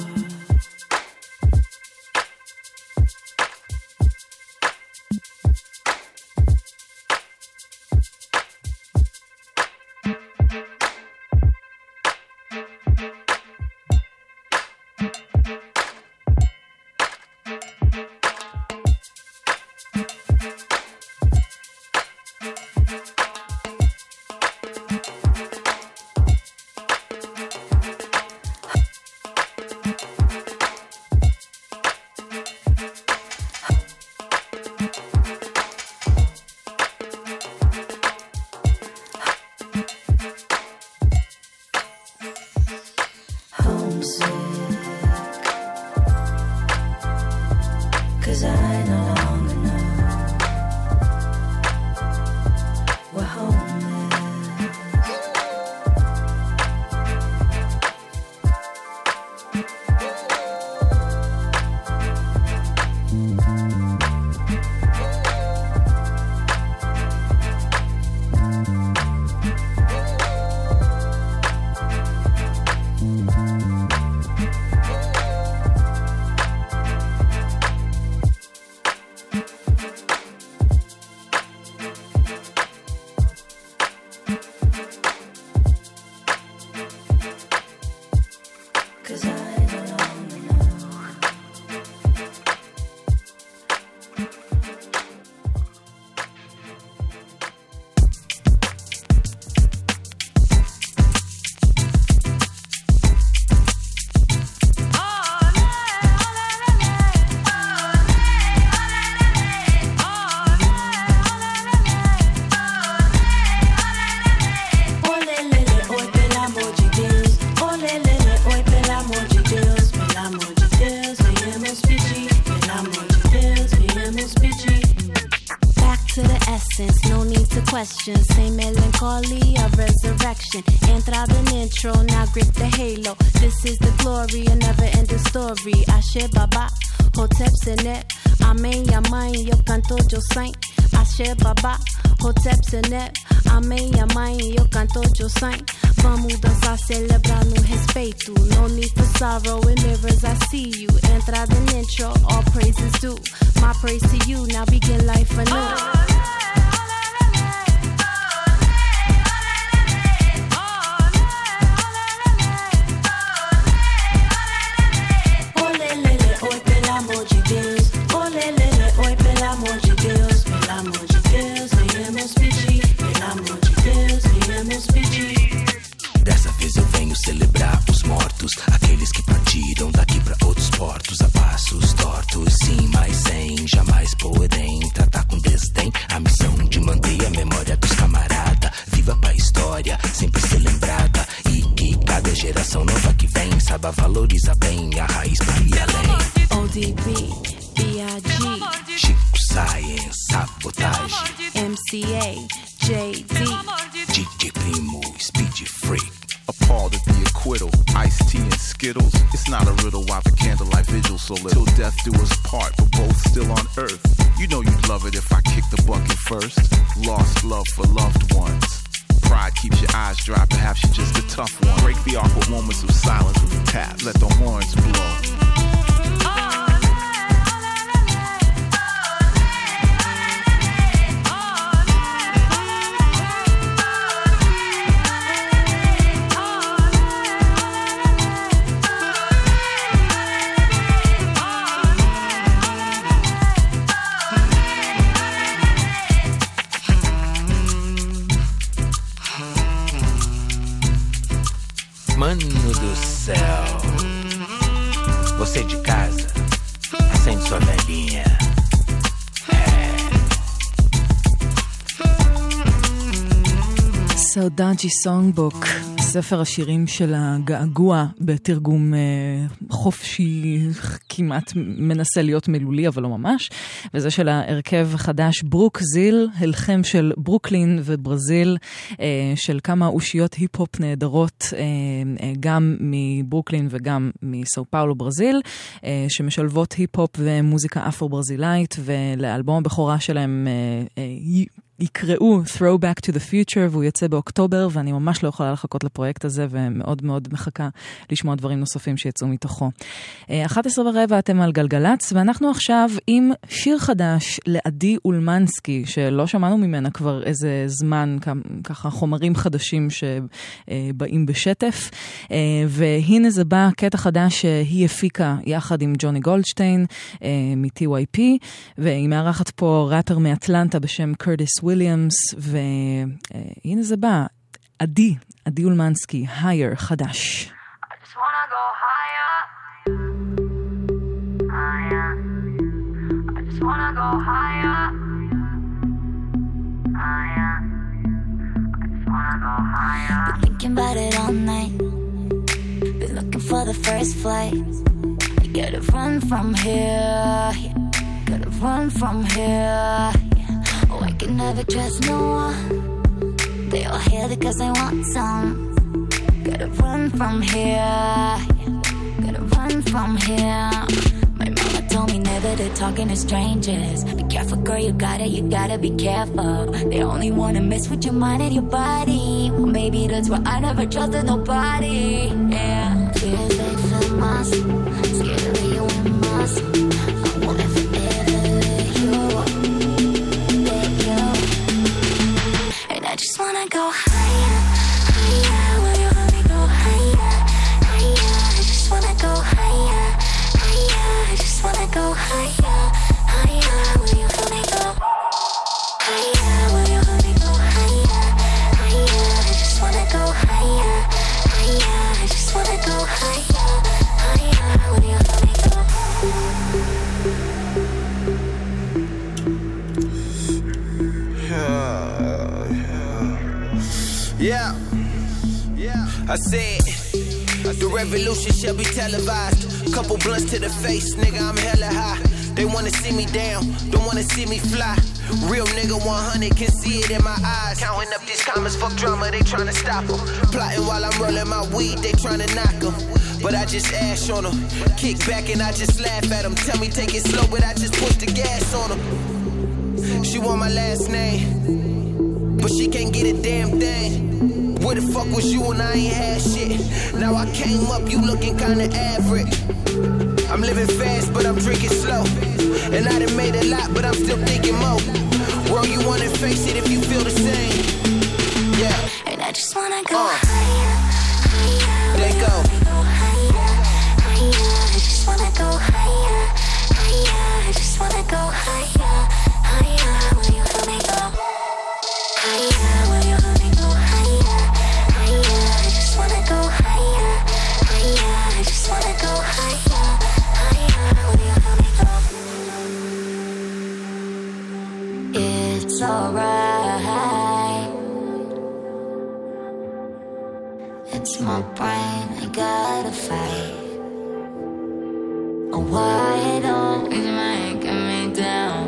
Same melancholy of resurrection. Entrada an intro, now grip the halo. This is the glory, a never-ending story. Ashe Baba, Hotep Senet. Amém, Yamai, yo canto, yo saint. Ashe Baba, Hotep Senet. Amém, Yamai, yo canto, yo saint. Vamos dançar, celebrar no respeito. No need for sorrow, in mirrors I see you. Entrada an intro, all praises due. My praise to you, now begin life anew. Dessa vez eu venho celebrar os mortos, aqueles que partiram daqui pra outros portos, a passos tortos, sim, mas sem jamais porém tratar com desdém a missão de manter a memória dos camaradas viva pra história, sempre ser lembrada, e que cada geração nova que vem saiba valorizar bem a raiz pra ir além. O D B, B I G, Chico Science, Sabotagem, M C A, J D, D J Primo, Speed Freak. Appalled at the acquittal, iced tea and Skittles. It's not a riddle why the candlelight vigil so little. Till death do us part, but both still on earth. You know you'd love it if I kicked the bucket first. Lost love for loved ones. Pride keeps your eyes dry, perhaps you're just a tough one. Break the awkward moments of silence with a tap. Let the horns blow. Você de casa, acende sua velhinha. סאודאג'י סונגבוק, ספר השירים של הגעגוע בתרגום חופשי, כמעט מנסה להיות מילולי אבל לא ממש, וזה של ההרכב החדש ברוק זיל, הלחם של ברוקלין וברזיל, של כמה אושיות היפ-הופ נהדרות, גם מברוקלין וגם מסאו פאולו ברזיל, שמשלבות היפ-הופ ומוזיקה אפרו-ברזילאית, ולאלבום הבכורה שלהם יקראו Throwback to the Future, והוא יצא באוקטובר, ואני ממש לא יכולה לחכות לפרויקט הזה, ומאוד מאוד מחכה לשמוע דברים נוספים שיצאו מתוכו. אחת עשרה ורבע אתם על גלגלץ, ואנחנו עכשיו עם שיר חדש לעדי אולמנסקי, שלא שמענו ממנה כבר איזה זמן, ככה חומרים חדשים שבאים בשטף, והנה זה בא קטע חדש שהיא הפיקה יחד עם ג'וני גולדשטיין מ-טי וואי פי, והיא מארחת פה ראפר מאטלנטה בשם קרטיס וויליאמס, והנה זה בא, עדי, עדי אולמנסקי, הייר, חדש. Been thinking about it all night. Been looking for the first flight. You gotta run from here. Gotta run from here. Oh, I can never trust no one. They all here because they want some. Gotta run from here. Gotta run from here. My mama told me never to talk to strangers. Be careful, girl, you gotta, you gotta be careful. They only wanna mess with your mind and your body. Well, maybe that's why I never trusted nobody. Yeah. Fears they fill my soul. Scared to leave you in my soul. I won't ever, ever let you let you. And I just wanna go higher, higher. Will you let me go higher, higher? I just wanna go higher, higher. I just wanna go higher, higher. Will you let me go higher? Will you let me go higher, higher? I just wanna go higher, higher. I just wanna go higher, higher. Will you let me go? Yeah, yeah. I said the revolution shall be televised. Couple blunts to the face, nigga, I'm hella high. They wanna see me down, don't wanna see me fly. Real nigga one hundred can see it in my eyes. Counting up these comments, fuck drama, they tryna stop them. Plotting while I'm rolling my weed, they tryna knock them. But I just ash on them, kick back and I just laugh at them. Tell me take it slow, but I just push the gas on them. She want my last name, but she can't get a damn thing. Where the fuck was you when I ain't had shit? Now I came up, you looking kinda average. I'm living fast, but I'm drinking slow. And I done made a lot, but I'm still thinking more. World, you wanna face it if you feel the same. Yeah. And I just wanna go uh. higher, higher. Let go. Go higher, higher. I just wanna go higher, higher. I just wanna go higher, higher. Will you let me go higher? Will you let me go higher, higher? I just wanna go higher, higher. I just wanna go higher, higher. Will you let me go? It's alright. It's my brain, I gotta fight. Oh, why don't you making me down?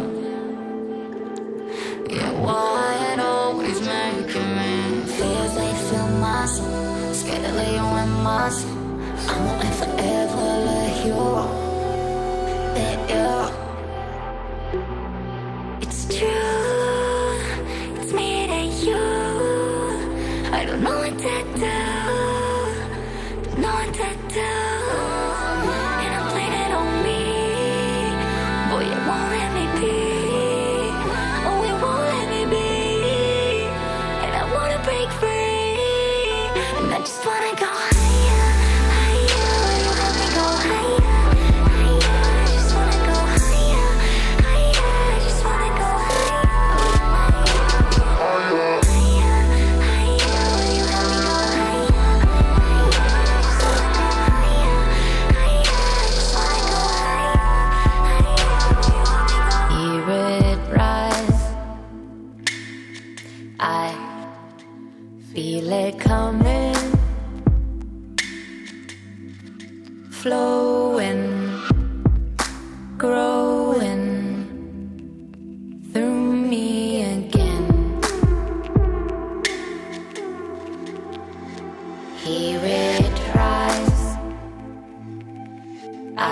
Yeah, why it always making me? Feels they fill my soul. Scared to lay you in my soul. I won't ever, ever let you let you. It's true, it's me and you. I don't know what to do, don't know what to do. And I'm blaming on me. Boy, you won't let me be. Oh, you won't let me be. And I wanna break free. And I just wanna go higher, higher. Will you let me go higher, higher? I just wanna go higher.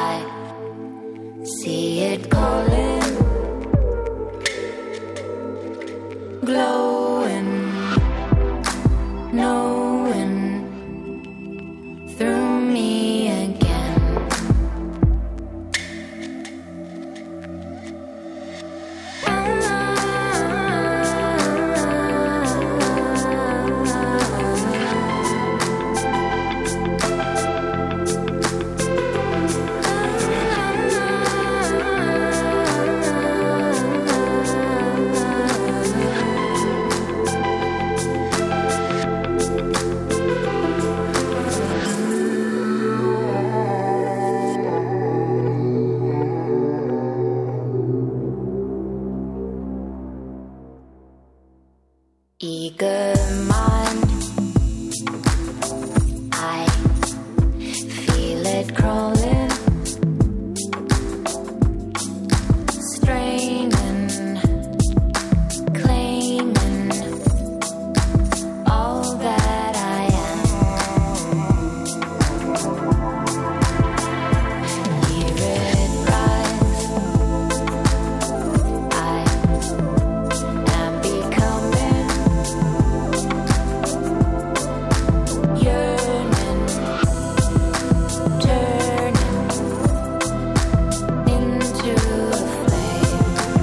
I see it calling, glowing, knowing through me again. Eager mind, I feel it crawling, straining, claiming all that I am. Hear it rise, I am becoming yearning, turning into a flame.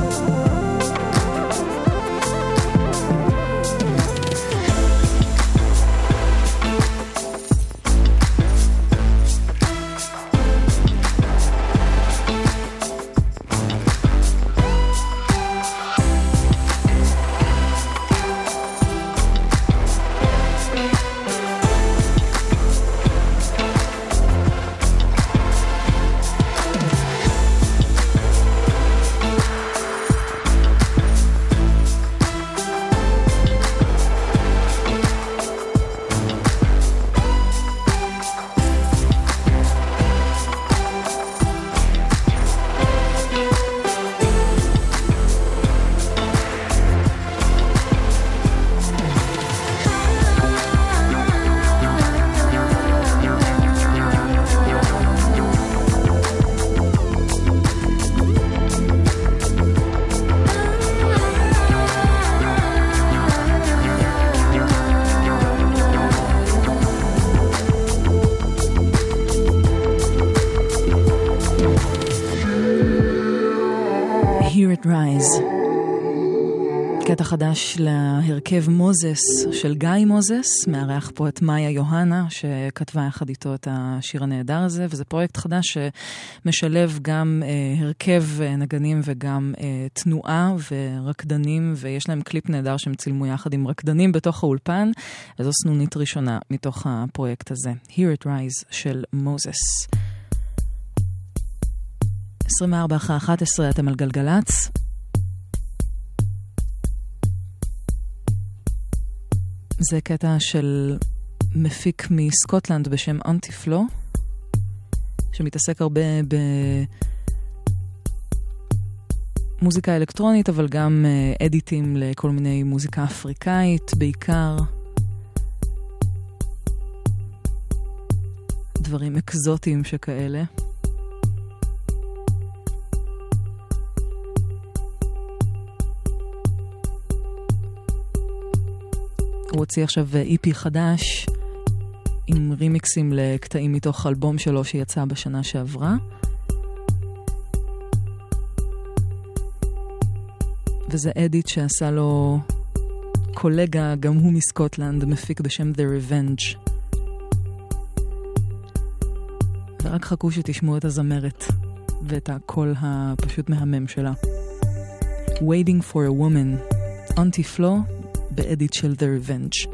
Hear it rise. קטע חדש להרכב מוזס של גיא מוזס, מארח פה את מאיה יוהנה שכתבה יחד איתו את השיר הנהדר הזה, וזה פרויקט חדש שמשלב גם אה, הרכב נגנים וגם אה, תנועה ורקדנים, ויש להם קליפ נהדר שהם צילמו יחד עם רקדנים בתוך האולפן, וזו סנונית ראשונה מתוך הפרויקט הזה. Hear it rise של מוזס. עשרים וארבע אחרי אחת עשרה אתם על גלגלץ. זה קטע של מפיק מסקוטלנד בשם אנטיפלו, שמתעסק הרבה במוזיקה אלקטרונית, אבל גם אדיטים לכל מיני מוזיקה אפריקאית, בעיקר דברים אקזוטיים שכאלה. הוא הוציא עכשיו אי פי חדש עם רימיקסים לקטעים מתוך אלבום שלו שיצא בשנה שעברה. וזה אדיט שעשה לו קולגה, גם הוא מסקוטלנד, מפיק בשם The Revenge. ורק חכו שתשמעו את הזמרת ואת הקול הפשוט מהמם שלה. Waiting for a Woman, אנטיפלו, באדיט של The Revenge.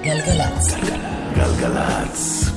גלגלצ. גלגלצ.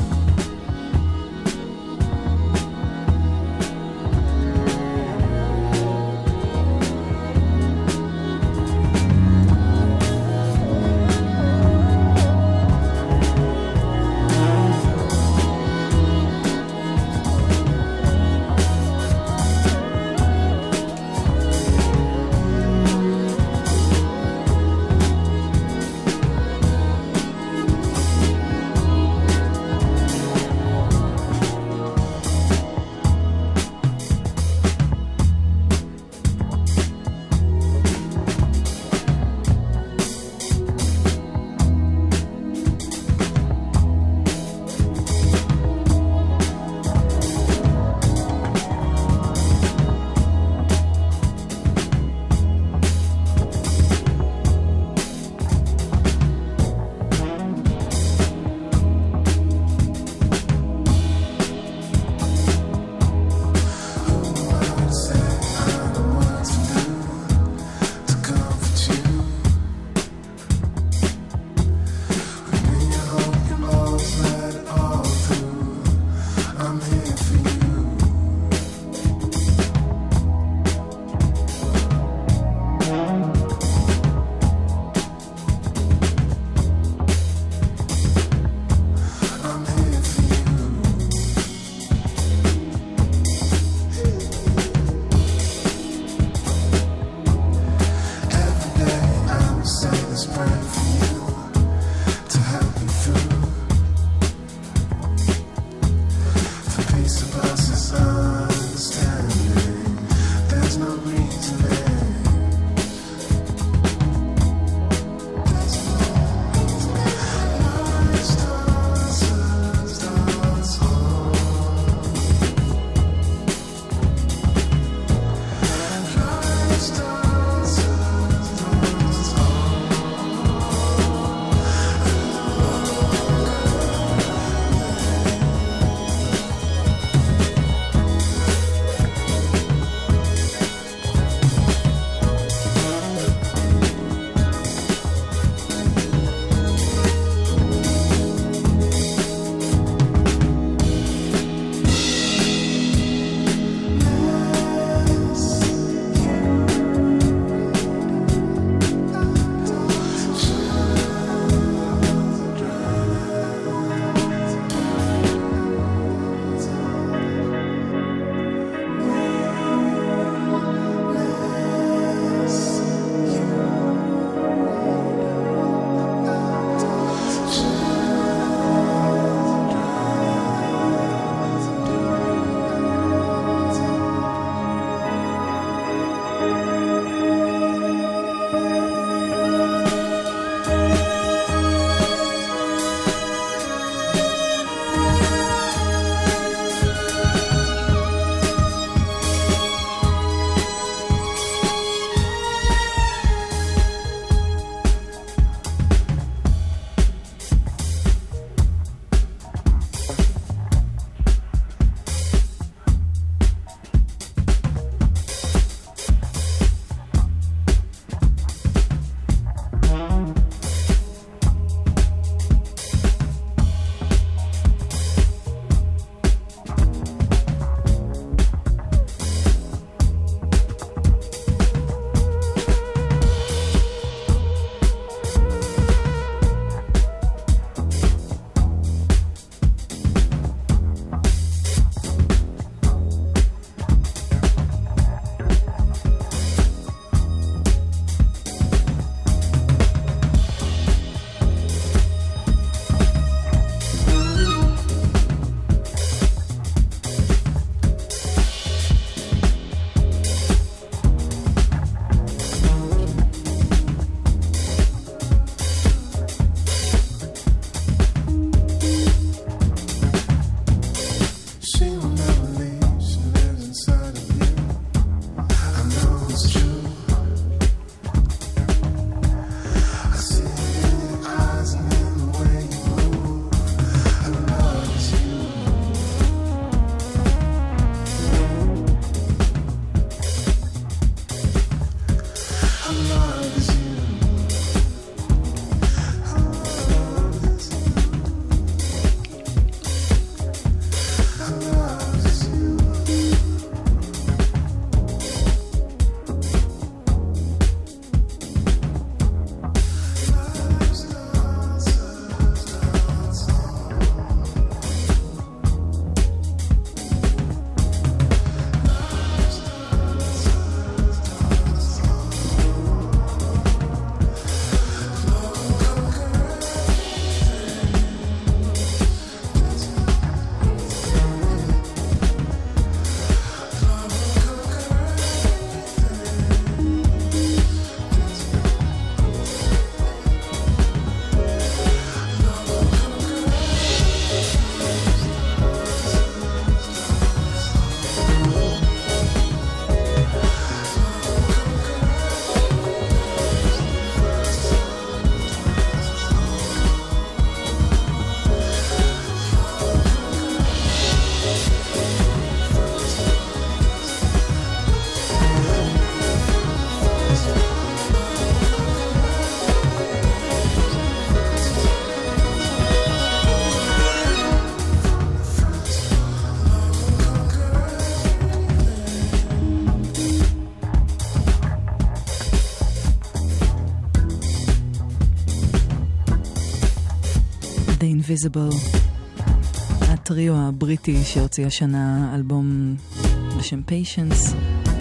The Invisible, הטריו הבריטי שהוציא השנה אלבום בשם Patience.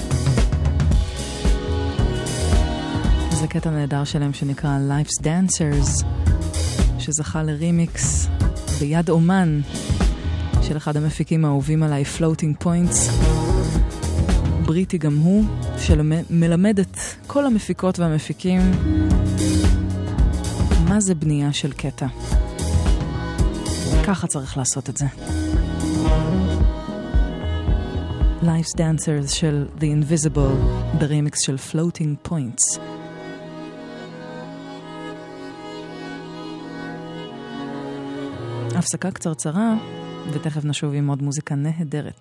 זה קטע נהדר שלהם שנקרא Life's Dancers, שזכה לרימיקס ביד אומן של אחד המפיקים האהובים עליי, Floating Points, בריטי גם הוא, שמלמד את כל המפיקות והמפיקים מה זה בנייה של קטע. ככה צריך לעשות את זה. Life's Dancers של The Invisible, ברימיקס של Floating Points. הפסקה קצרצרה, ותכף נשוב עם עוד מוזיקה נהדרת.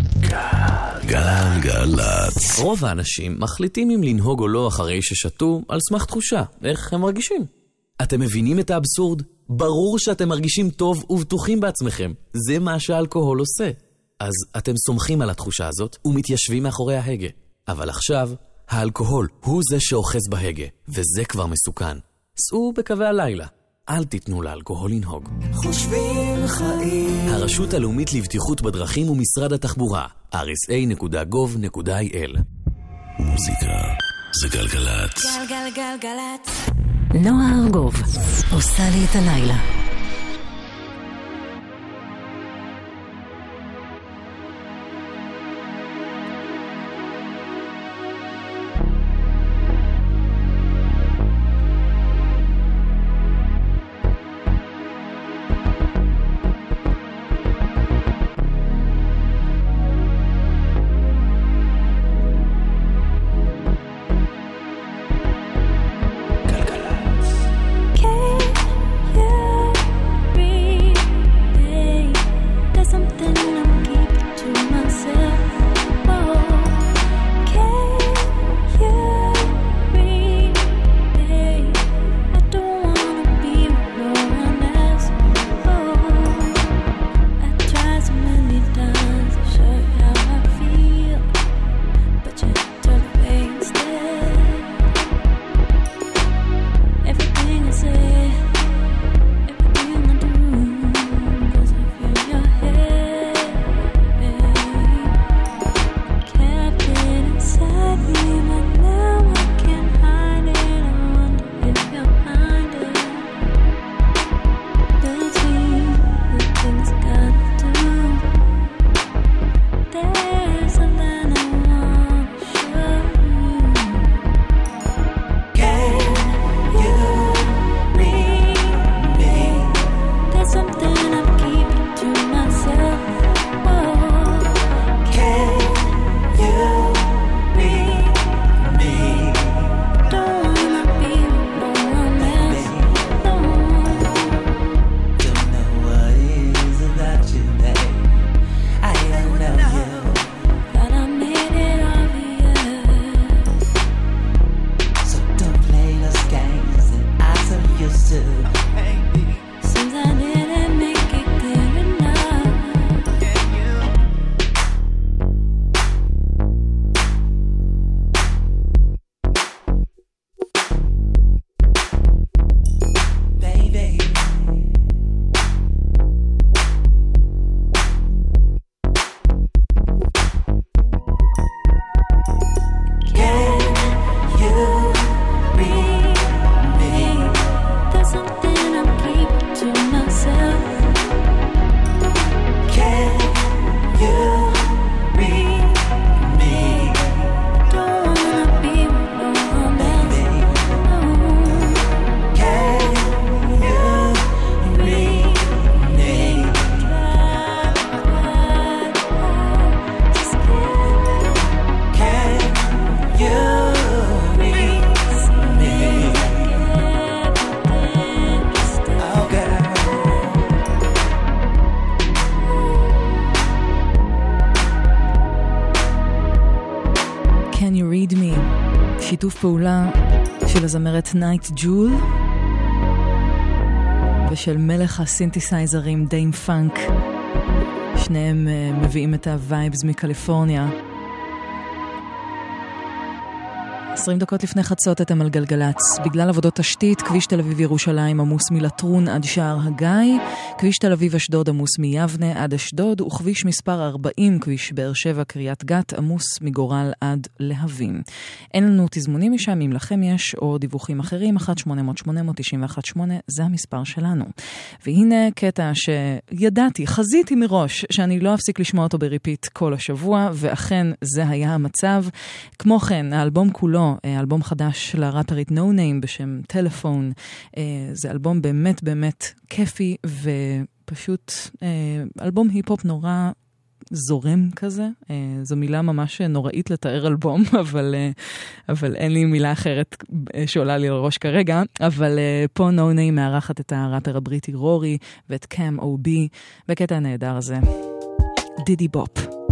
גלגלצ. רוב האנשים מחליטים אם לנהוג או לא אחרי ששתו על סמך תחושה, איך הם מרגישים. אתם מבינים את האבסורד? ברור שאתם מרגישים טוב ובטוחים בעצמכם. זה מה שהאלכוהול עושה. אז אתם סומכים על התחושה הזאת ומתיישבים מאחורי ההגה. אבל עכשיו, האלכוהול הוא זה שאוחז בהגה, וזה כבר מסוכן. סעו בקווי הלילה. אל תיתנו לאלכוהול לנהוג. חושבים חיים. הרשות הלאומית לבטיחות בדרכים ומשרד התחבורה, אר אס איי נקודה גוב נקודה איי אל. מוזיקה זה גלגלצ. גלגלגלגלצ. נועה ארגוב עושה לי את הלילה. שיתוף פעולה של הזמרת נייט ג'ול ושל מלך הסינתסייזרים דיים פאנק. שניהם מביאים את הווייבס מקליפורניה. עשרים דקות לפני חצות אתם על גלגלץ. בגלל עבודות תשתית, כביש תל אביב ירושלים עמוס מלטרון עד שער הגיא, כביש תל אביב אשדוד עמוס מיבנה עד אשדוד, וכביש מספר ארבעים, כביש באר שבע קריית גת, עמוס מגורל עד להבים. אין לנו תזמונים משם, אם לכם יש או דיווחים אחרים, אחת שמונה אפס אפס שמונה תשע אחת שמונה, זה המספר שלנו. והנה קטע שידעתי, חזיתי מראש, שאני לא אפסיק לשמוע אותו בריפיט כל השבוע, ואכן זה היה המצב. כמו כן, האלבום כולו, אלבום חדש לראפרית No Name בשם טלפון, זה אלבום באמת באמת כיפי, ופשוט אלבום היפ-הופ נורא זורם כזה. זו מילה ממש נוראית לתאר אלבום, אבל, אבל אין לי מילה אחרת שעולה לי לראש כרגע. אבל פה No Name מארחת את הראפר הבריטי רורי ואת קאם או בי בקטע הנהדר הזה. דידי בופ.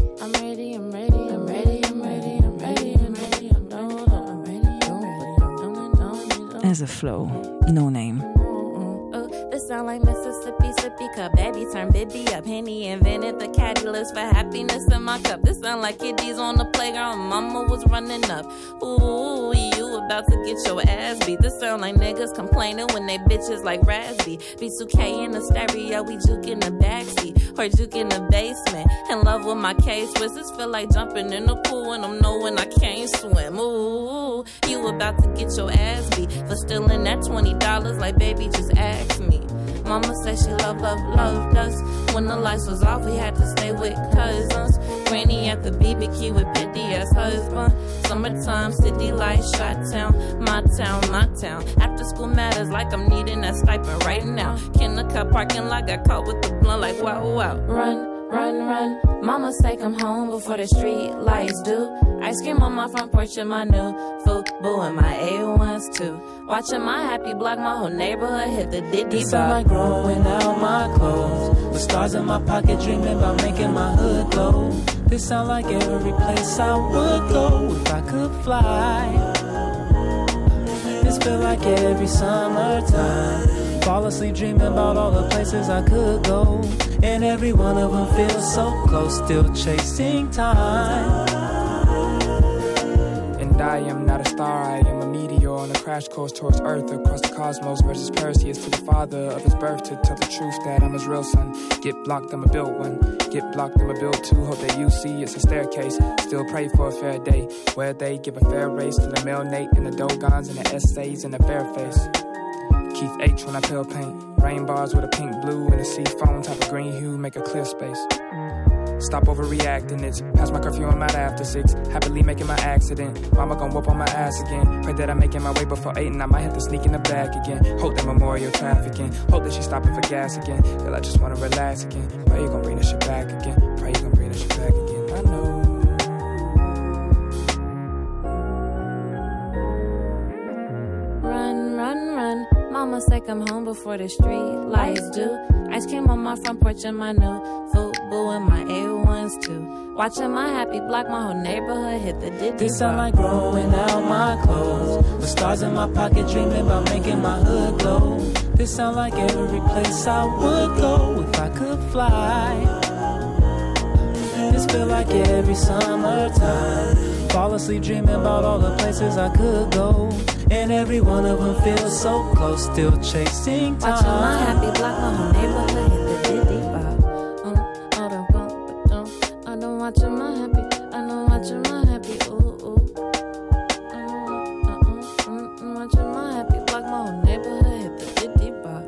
As a flow, No Name. This sound like Mississippi, sippy cup. Baby turn Bibby up. Henny invented the catalyst for happiness in my cup. This sound like kiddies on the playground. Mama was running up. Ooh, you about to get your ass beat. This sound like niggas complaining when they bitches like Raspy. B two K in the stereo, we juke in the backseat. Or juke in the basement. In love with my K-Swiss. This feel like jumping in the pool when I'm knowing I can't swim. Ooh, you about to get your ass beat. For stealing that twenty dollars like baby just ask me. Mama said she love, love, loved us. When the lights was off, we had to stay with cousins. Granny at the B B Q with petty ass husband. Summertime, city lights, shot town, my town, my town. After school matters like I'm needing that stipend right now. Kindergarten parking lot got caught with the blunt like wow, wow. Run, run, run. Mama say come home before the street lights do. Ice cream on my front porch and my new Fubu and my A ones too. Watching my happy block, my whole neighborhood hit the diddy bop. Sound like growing out my clothes, with stars in my pocket, dreaming about making my hood glow. This sound like every place I would go if I could fly. This feel like every summertime. Fall asleep dreaming about all the places I could go, and every one of them feels so close, still chasing time. I am not a star, I am a meteor on a crash course towards Earth, across the cosmos versus Perseus, to the father of his birth, to tell the truth that I'm his real son. Get blocked, I'ma build one. Get blocked, I'ma build two. Hope that you see it's a staircase. Still pray for a fair day, where they give a fair race to the male Nate and the Dogons and the essays and the fair face. Keith H when I peel paint, rain bars with a pink blue and a sea foam type of green hue, make a clear space. Stop overreacting, it's past my curfew, I'm out after six. Happily making my accident, mama gon' whoop on my ass again. Pray that I'm making my way before eight and I might have to sneak in the back again. Hope that memorial trafficking, hope that she's stopping for gas again. Girl, I just wanna relax again. Pray you gon' bring this shit back again. Pray you gon' bring this shit back again. I know. Run, run, run. Mama say come home before the street lights do. Ice cream on my front porch and my new Fubu and my A ones too. Watching my happy block, my whole neighborhood hit the diddy. This sound like growing out my clothes, with stars in my pocket, dreaming about making my hood glow. This sound like every place I would go if I could fly. This feel like every summertime. Fall asleep dreaming about all the places I could go, and every one of them feels so close, still chasing time. Watching my happy block, my whole neighborhood hit the diddy bop. Um, oh, the bump, but don't. I don't watching my happy. I know watching my happy. Ooh, ooh. Uh, uh, uh, mm, mm, watching my happy block, my whole neighborhood hit the diddy bop.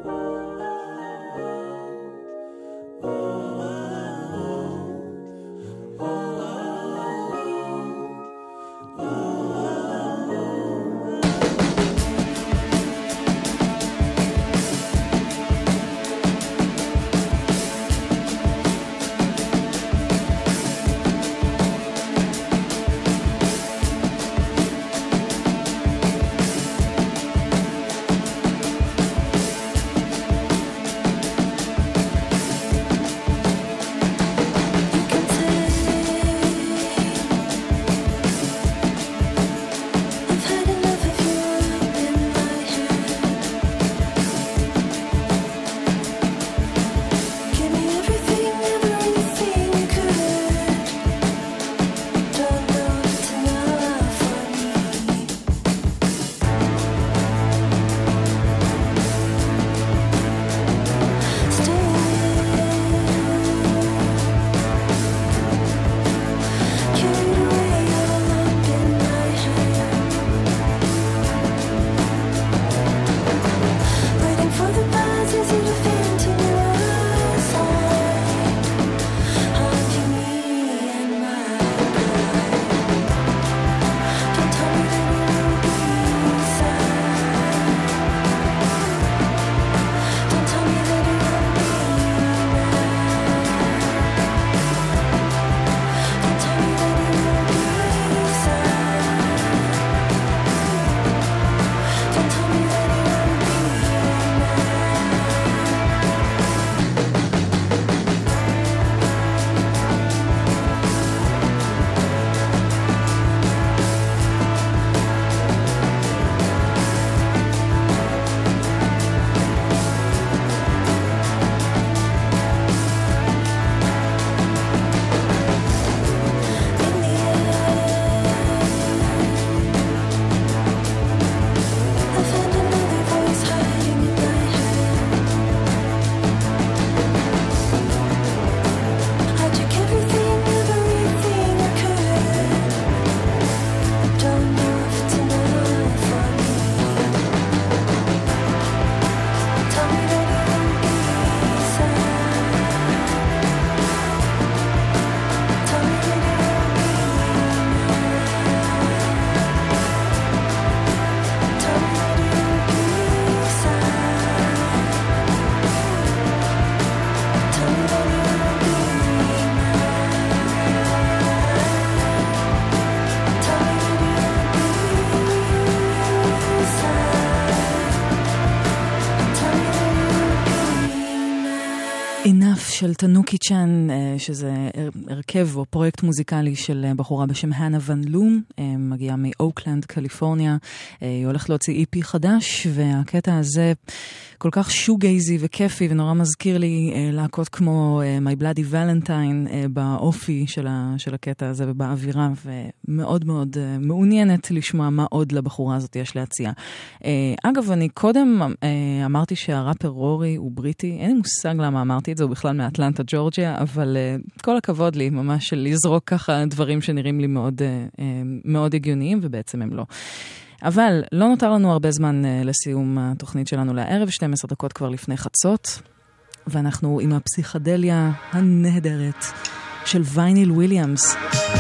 Enough של תנוקי צ'אן, שזה הרכב או פרויקט מוזיקלי של בחורה בשם הנה ון לום, מגיעה מאוקלנד, קליפורניה. היא הולכת להוציא אי פי חדש, והקטע הזה כל כך שוגייזי וכיפי, ונורא מזכיר לי להקות כמו My Bloody Valentine באופי של, ה, של הקטע הזה ובאווירה, ומאוד מאוד מעוניינת לשמוע מה עוד לבחורה הזאת יש להציע. אגב, אני קודם אמרתי שהראפר רורי הוא בריטי, אין לי מושג למה אמרתי את זה, הוא בכלל מאטלנטה, ג'ורג'יה, אבל כל הכבוד לי ממש של לזרוק ככה דברים שנראים לי מאוד, מאוד הגיוניים, ובעצם הם לא. אבל לא נותר לנו הרבה זמן לסיום התוכנית שלנו לערב, שתים עשרה דקות כבר לפני חצות, ואנחנו עם הפסיכדליה הנהדרת של וייניל וויליאמס.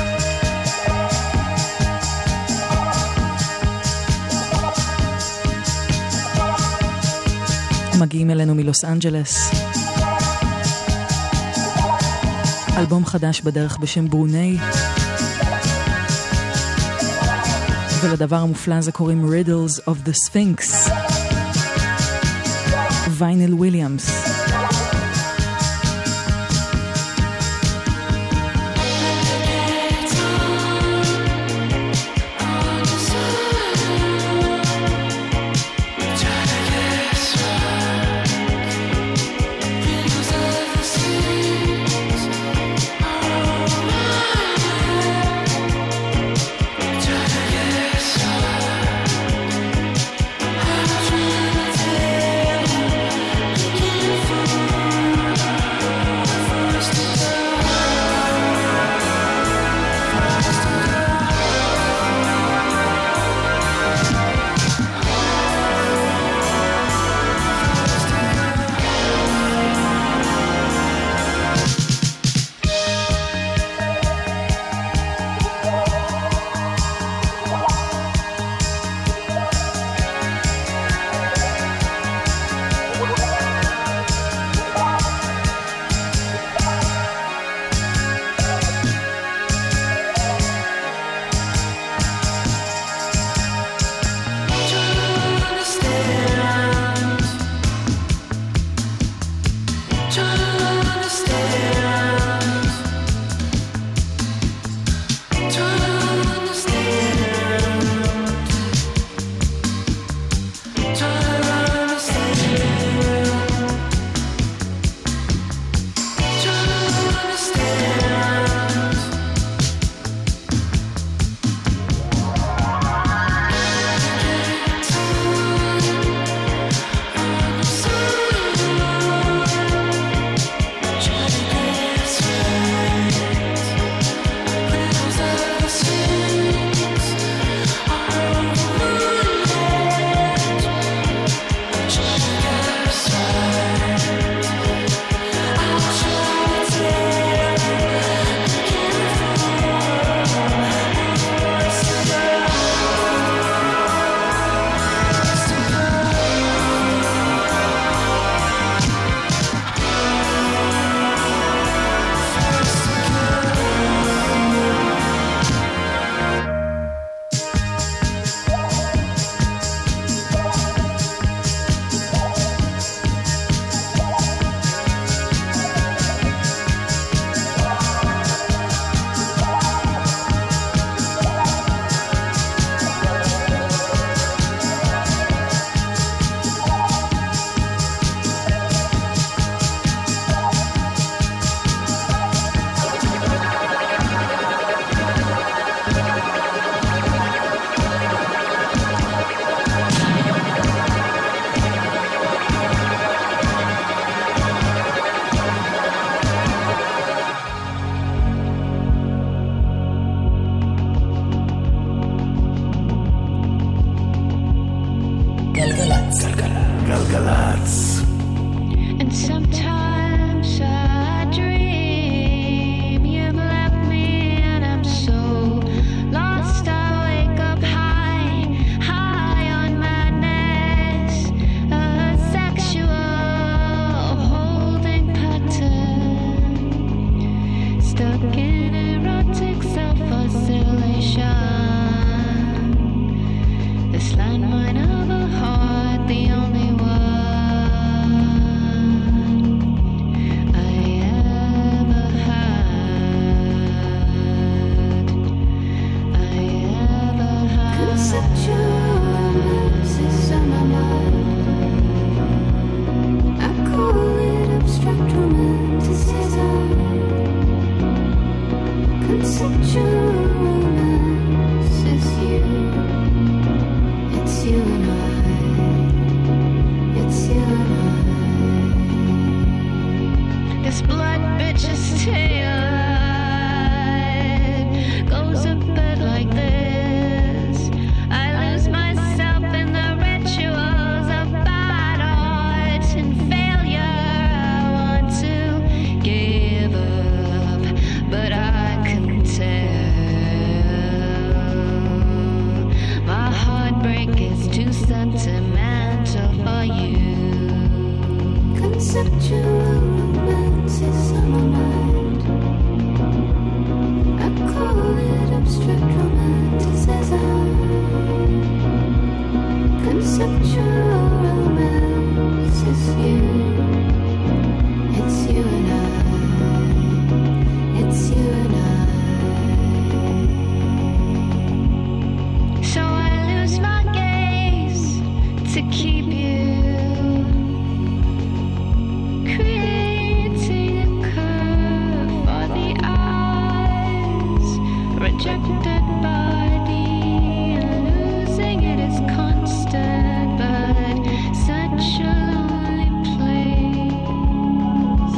מגיעים אלינו מלוס אנג'לס. אלבום חדש בדרך בשם ברוני. ולדבר המופלא הזה קוראים Riddles of the Sphinx. וייניל וויליאמס. Feel This blood bitch's tail goes a bit like this. I lose myself in the rituals of bad art and failure. I want to give up, but I can tell my heartbreak is too sentimental for you. Conceptual romance is on my mind. I call it abstract romanticism. Conceptual romance is you. It's you and I. It's you and I. So I lose my gaze to keep you. Rejected body, losing it is constant, but such a lonely place.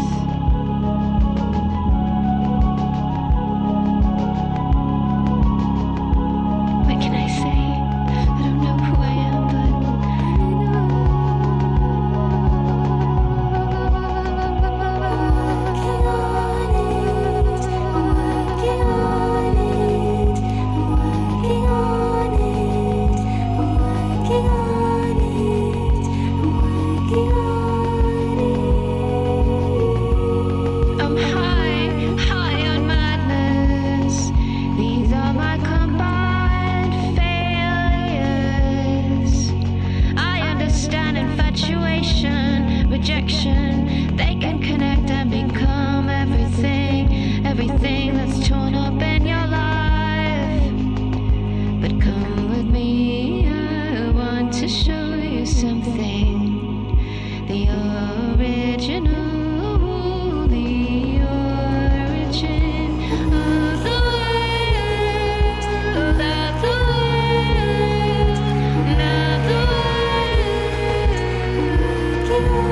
What can I say? I don't know who I am, but they can connect and become everything, everything that's torn up in your life. But come with me, I want to show you something. The original, the origin of the world, of the world, not the world.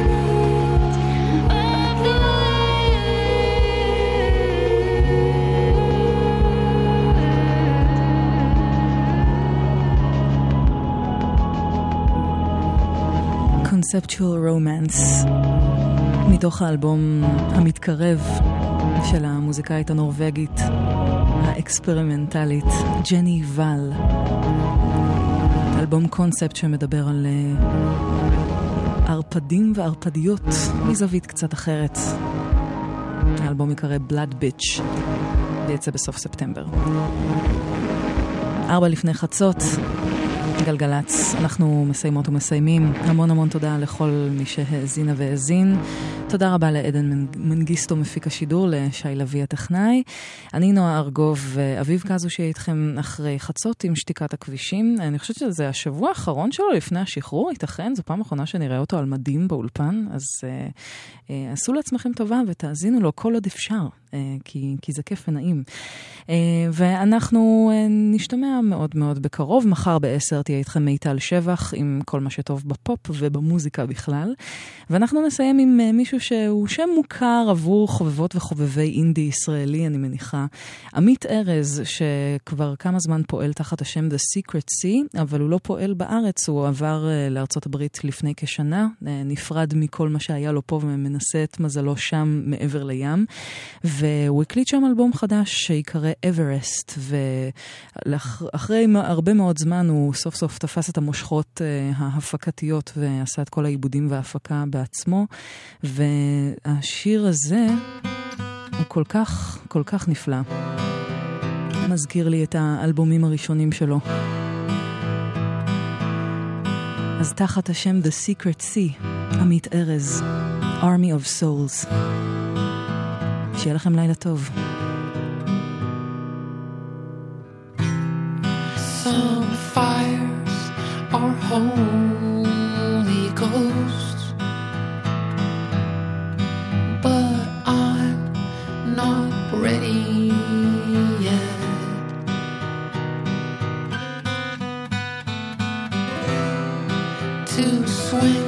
Conceptual Romance, מתוך האלבום המתקרב של המוזיקאית הנורווגית האקספרימנטלית ג'ני ואל. אלבום קונספט שמדבר על ערפדים וערפדיות מזווית קצת אחרת. האלבום יקרא Blood Bitch ויצא בסוף ספטמבר. ארבע לפני חצות, גלגלץ, אנחנו מסיימות ומסיימים. המון המון תודה לכל מי שהאזינה והאזין. תודה רבה לעדן מנגיסטו מפיק השידור, לשי לוי הטכנאי. אני נועה ארגוב, אביב כזו שיהיה איתכם אחרי חצות עם שתיקת הכבישים. אני חושבת שזה השבוע האחרון שלו לפני השחרור, ייתכן, זו פעם אחרונה שנראה אותו על מדים באולפן, אז אה, אה, עשו לעצמכם טובה ותאזינו לו כל עוד אפשר, אה, כי, כי זה כיף ונעים. אה, ואנחנו אה, נשתמע מאוד מאוד בקרוב, מחר בעשר תהיה איתכם מיטל שבח עם כל מה שטוב בפופ ובמוזיקה בכלל. ואנחנו נסיים עם אה, מישהו שהוא שם מוכר עבור חובבות וחובבי אינדי ישראלי, אני מניחה. עמית ארז, שכבר כמה זמן פועל תחת השם The Secret Sea, אבל הוא לא פועל בארץ, הוא עבר לארצות הברית לפני כשנה, נפרד מכל מה שהיה לו פה ומנסה את מזלו שם מעבר לים, והוא הקליט שם אלבום חדש שיקרא Everest, ואחרי הרבה מאוד זמן הוא סוף סוף תפס את המושכות ההפקתיות ועשה את כל העיבודים וההפקה בעצמו, והשיר הזה הוא כל כך, כל כך נפלא. מזכיר לי את האלבומים הראשונים שלו. אז תחת השם The Secret Sea, עמית ארז, Army of Souls. שיהיה לכם לילה טוב. Some fires are Holy Ghost, but I'm not ready yet. To swing